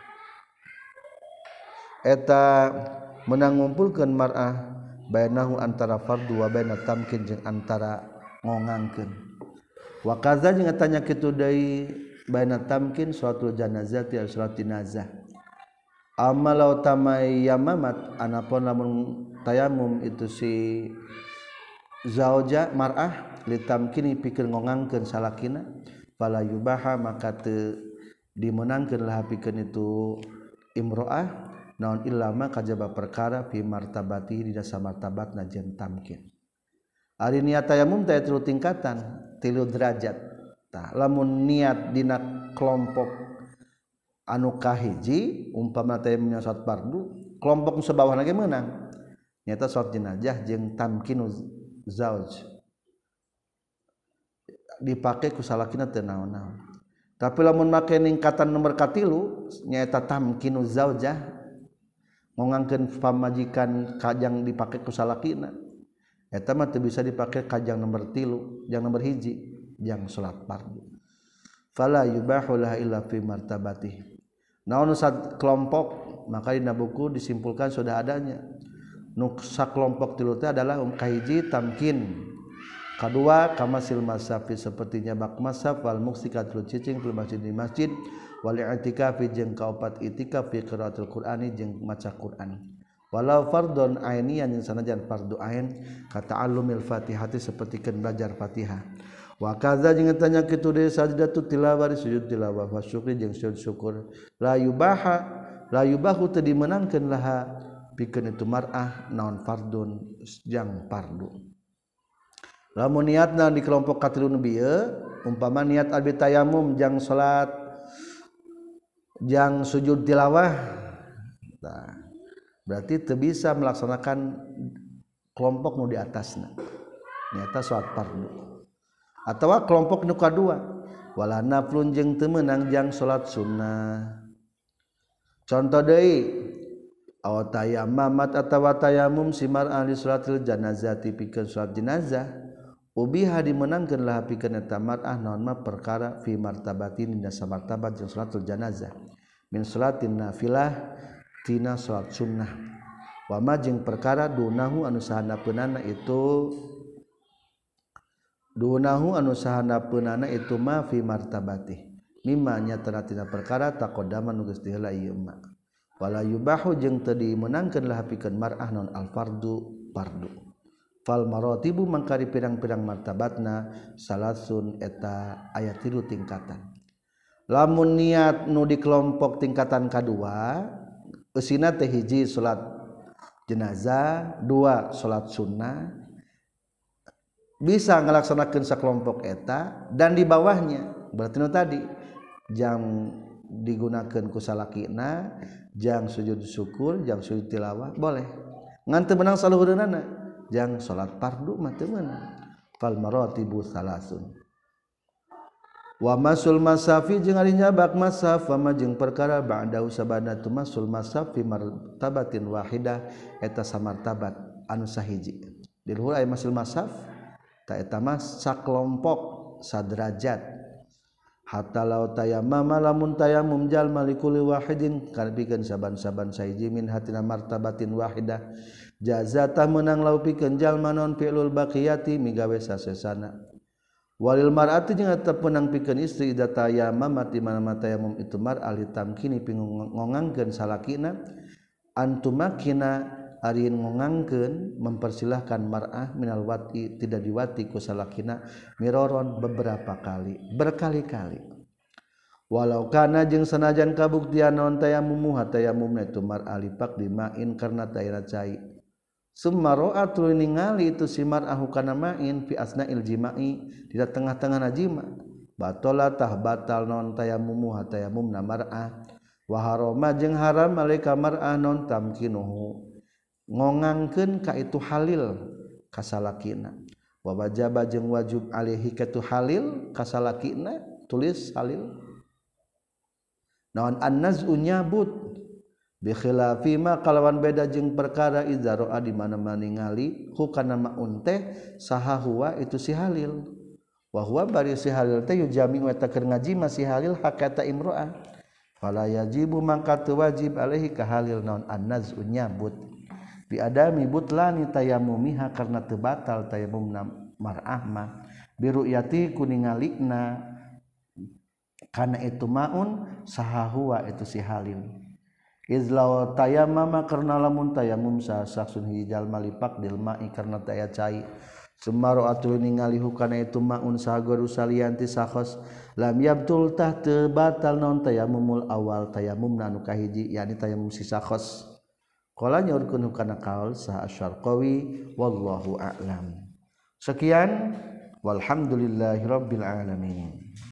eta meunang ngumpulkeun mar'ah bainahu antara fardu wa baina tamkin jeung antara ngongangkeun wa kaza jeung tanya kitu deui baina tamkin salatul janazah ti salat jenazah amalau tamayamamat anapun lamun tayamum itu si zauja mar'ah litamkini pikeun ngongangkeun salakina fala yubaha maka teu dimenangkeun lah pikeun itu imro'ah naon illama kajaba perkara fi martabati di dasar martabatna jeung tamkin ari niat tayamum teh tilu tingkatan tilu derajat tah lamun niat dina kelompok anu kahiji umpama tayamum salat fardu kelompok sabawahna ge meunang nyata salat jenazah jeung tamkinu zauj dipake ku salakina teu naon-naon tapi lamun make ningkatan nomor katilu nyaeta tamkinu zaujah ngongangkeun pamajikan kajang dipake ku salakina eta mah teu bisa dipake kajang nomor tilu jang nomor hiji jang salat fardu fala yubahu laha illa fi martabatih naon sat kelompok maka dina buku disimpulkan sudah adanya nu sakelompok tilu teh adalah um kahiji tamkin Kedua, kamasil masafi sepertinya bak masaf wal muksikatul cicing fil masjid di masjid wal i'tikafi jeung kaopat itikaf fi qiraatul qur'ani jeung maca Qur'an. Walau fardun ainian yang sanajan fardu ain ka ta'allumil Fatihati sapertikeun belajar Fatihah. Wa kadza jeung tanya kitu deui sajdatut tilawah sujud tilawah wa syukri jeung sujud syukur la yubaha la yubahu teu dimenangkeun laha pikeun itu mar'ah naon fardun jang fardu. Lamun niatna di kelompok katilun bieu umpama niat abi tayamum jang salat jang sujud tilawah nah, berarti teu bisa melaksanakan kelompok nu di atasna niatna salat fardu atawa kelompok nu kadua wala naflun jeung teu meunang jang salat sunnah contoh deui aw tayammamat atawa tayamum simar ahli salatil janazati pikeun salat jenazah ubiha dimenangkeun lah pikeun eta mar'ah naon mah perkara fi martabatin dina samartabat jeung salatul janazah min salatin nafilah tina salat sunnah wa ma jeung perkara dunahu anu sahandapeunana itu dunahu anu sahandapeunana itu ma fi martabati mimma nyatana tina perkara taqaddama nu geus diheula ieu ma wala yubahu jeung teu dimenangkeun lah pikeun mar'ah naon al fardu fardu fal maratibu mangkari pirang-pirang martabatna salasun eta aya tilu tingkatan lamun niat nu di kelompok tingkatan kadua eusina teh hiji salat jenazah dua salat sunnah bisa ngalaksanakeun sakelompok eta dan di bawahnya berarti nu tadi jang digunakeun ku salakina jang sujud syukur jang sujud tilawah boleh ngan teu meunang saluhureunana jang salat fardu mah teu meunang fal maratibu salasun wa masul masafi jeung ari nyabak masaf wa jeung perkara ba'da usabana tu masul masaf fi martabatin wahidah eta samartabat anu sahiji di luhur aya masul masaf ta eta mah sakelompok saderajat hatta law tayammama lamun tayammum jalma likulli wahidin kalbikeun saban-saban sahiji min hatina martabatin wahidah jazata menang lau pikeun jalma naon fi'lul baqiyati migawe sasesana walil mar'ati jeung eta penang pikeun istri ida tayammama ti mana tayammum itu mar ali tamkini pingongangkeun salakina antumakina ari ngongangkeun mempersilahkan mar'ah minal wati tidak diwati ku salakina miroron beberapa kali berkali-kali walau kana jeung sanajan kabuktian naon tayammum tayammumna itu mar ali pak dimain karena tayana cai summa ra'at ningali itu si mar'ah kana main fi asna'il jima'i di tengah-tengah najima batala tah batal naon tayammum tayammumna mar'ah wa harama jeung haram alaika mar'ah naon tamkinuhu ngongangkeun ka itu halil ka salakina wa wajaba jeung wajib alaihi ka itu halil ka salakina tulis halil naon an-naz'u nyabut bi khilafi ma kalawan beda jeung perkara idza ra'a di mana-mana ningali hukana maun teh saha huwa itu si halil wa huwa bari si halil teh yujami wa ta keur ngaji masih halil hakata imro'ah fala yajibu mangka teu wajib alaihi ka halil naon an-naz'u nyabut bi adami butlani tayammumiha karena teu batal tayammumna mar'ah mah bi ru'yati kuningalikna kana itu maun saha huwa itu si halil izlaw tayammama karena lamun tayammum sah saksun hijal malipak dil ma'i karena taya cai sumaro atul ningali hukana itu maun sahagoru salianti sakhos lam yabtul tah teu batal naon tayammumul awal tayammumna anu kahiji yakni tayammum si sakhos qala nyaurkeun hukana qaul sah asyarqawi wallahu a'lam sekian walhamdulillahirabbil alamin.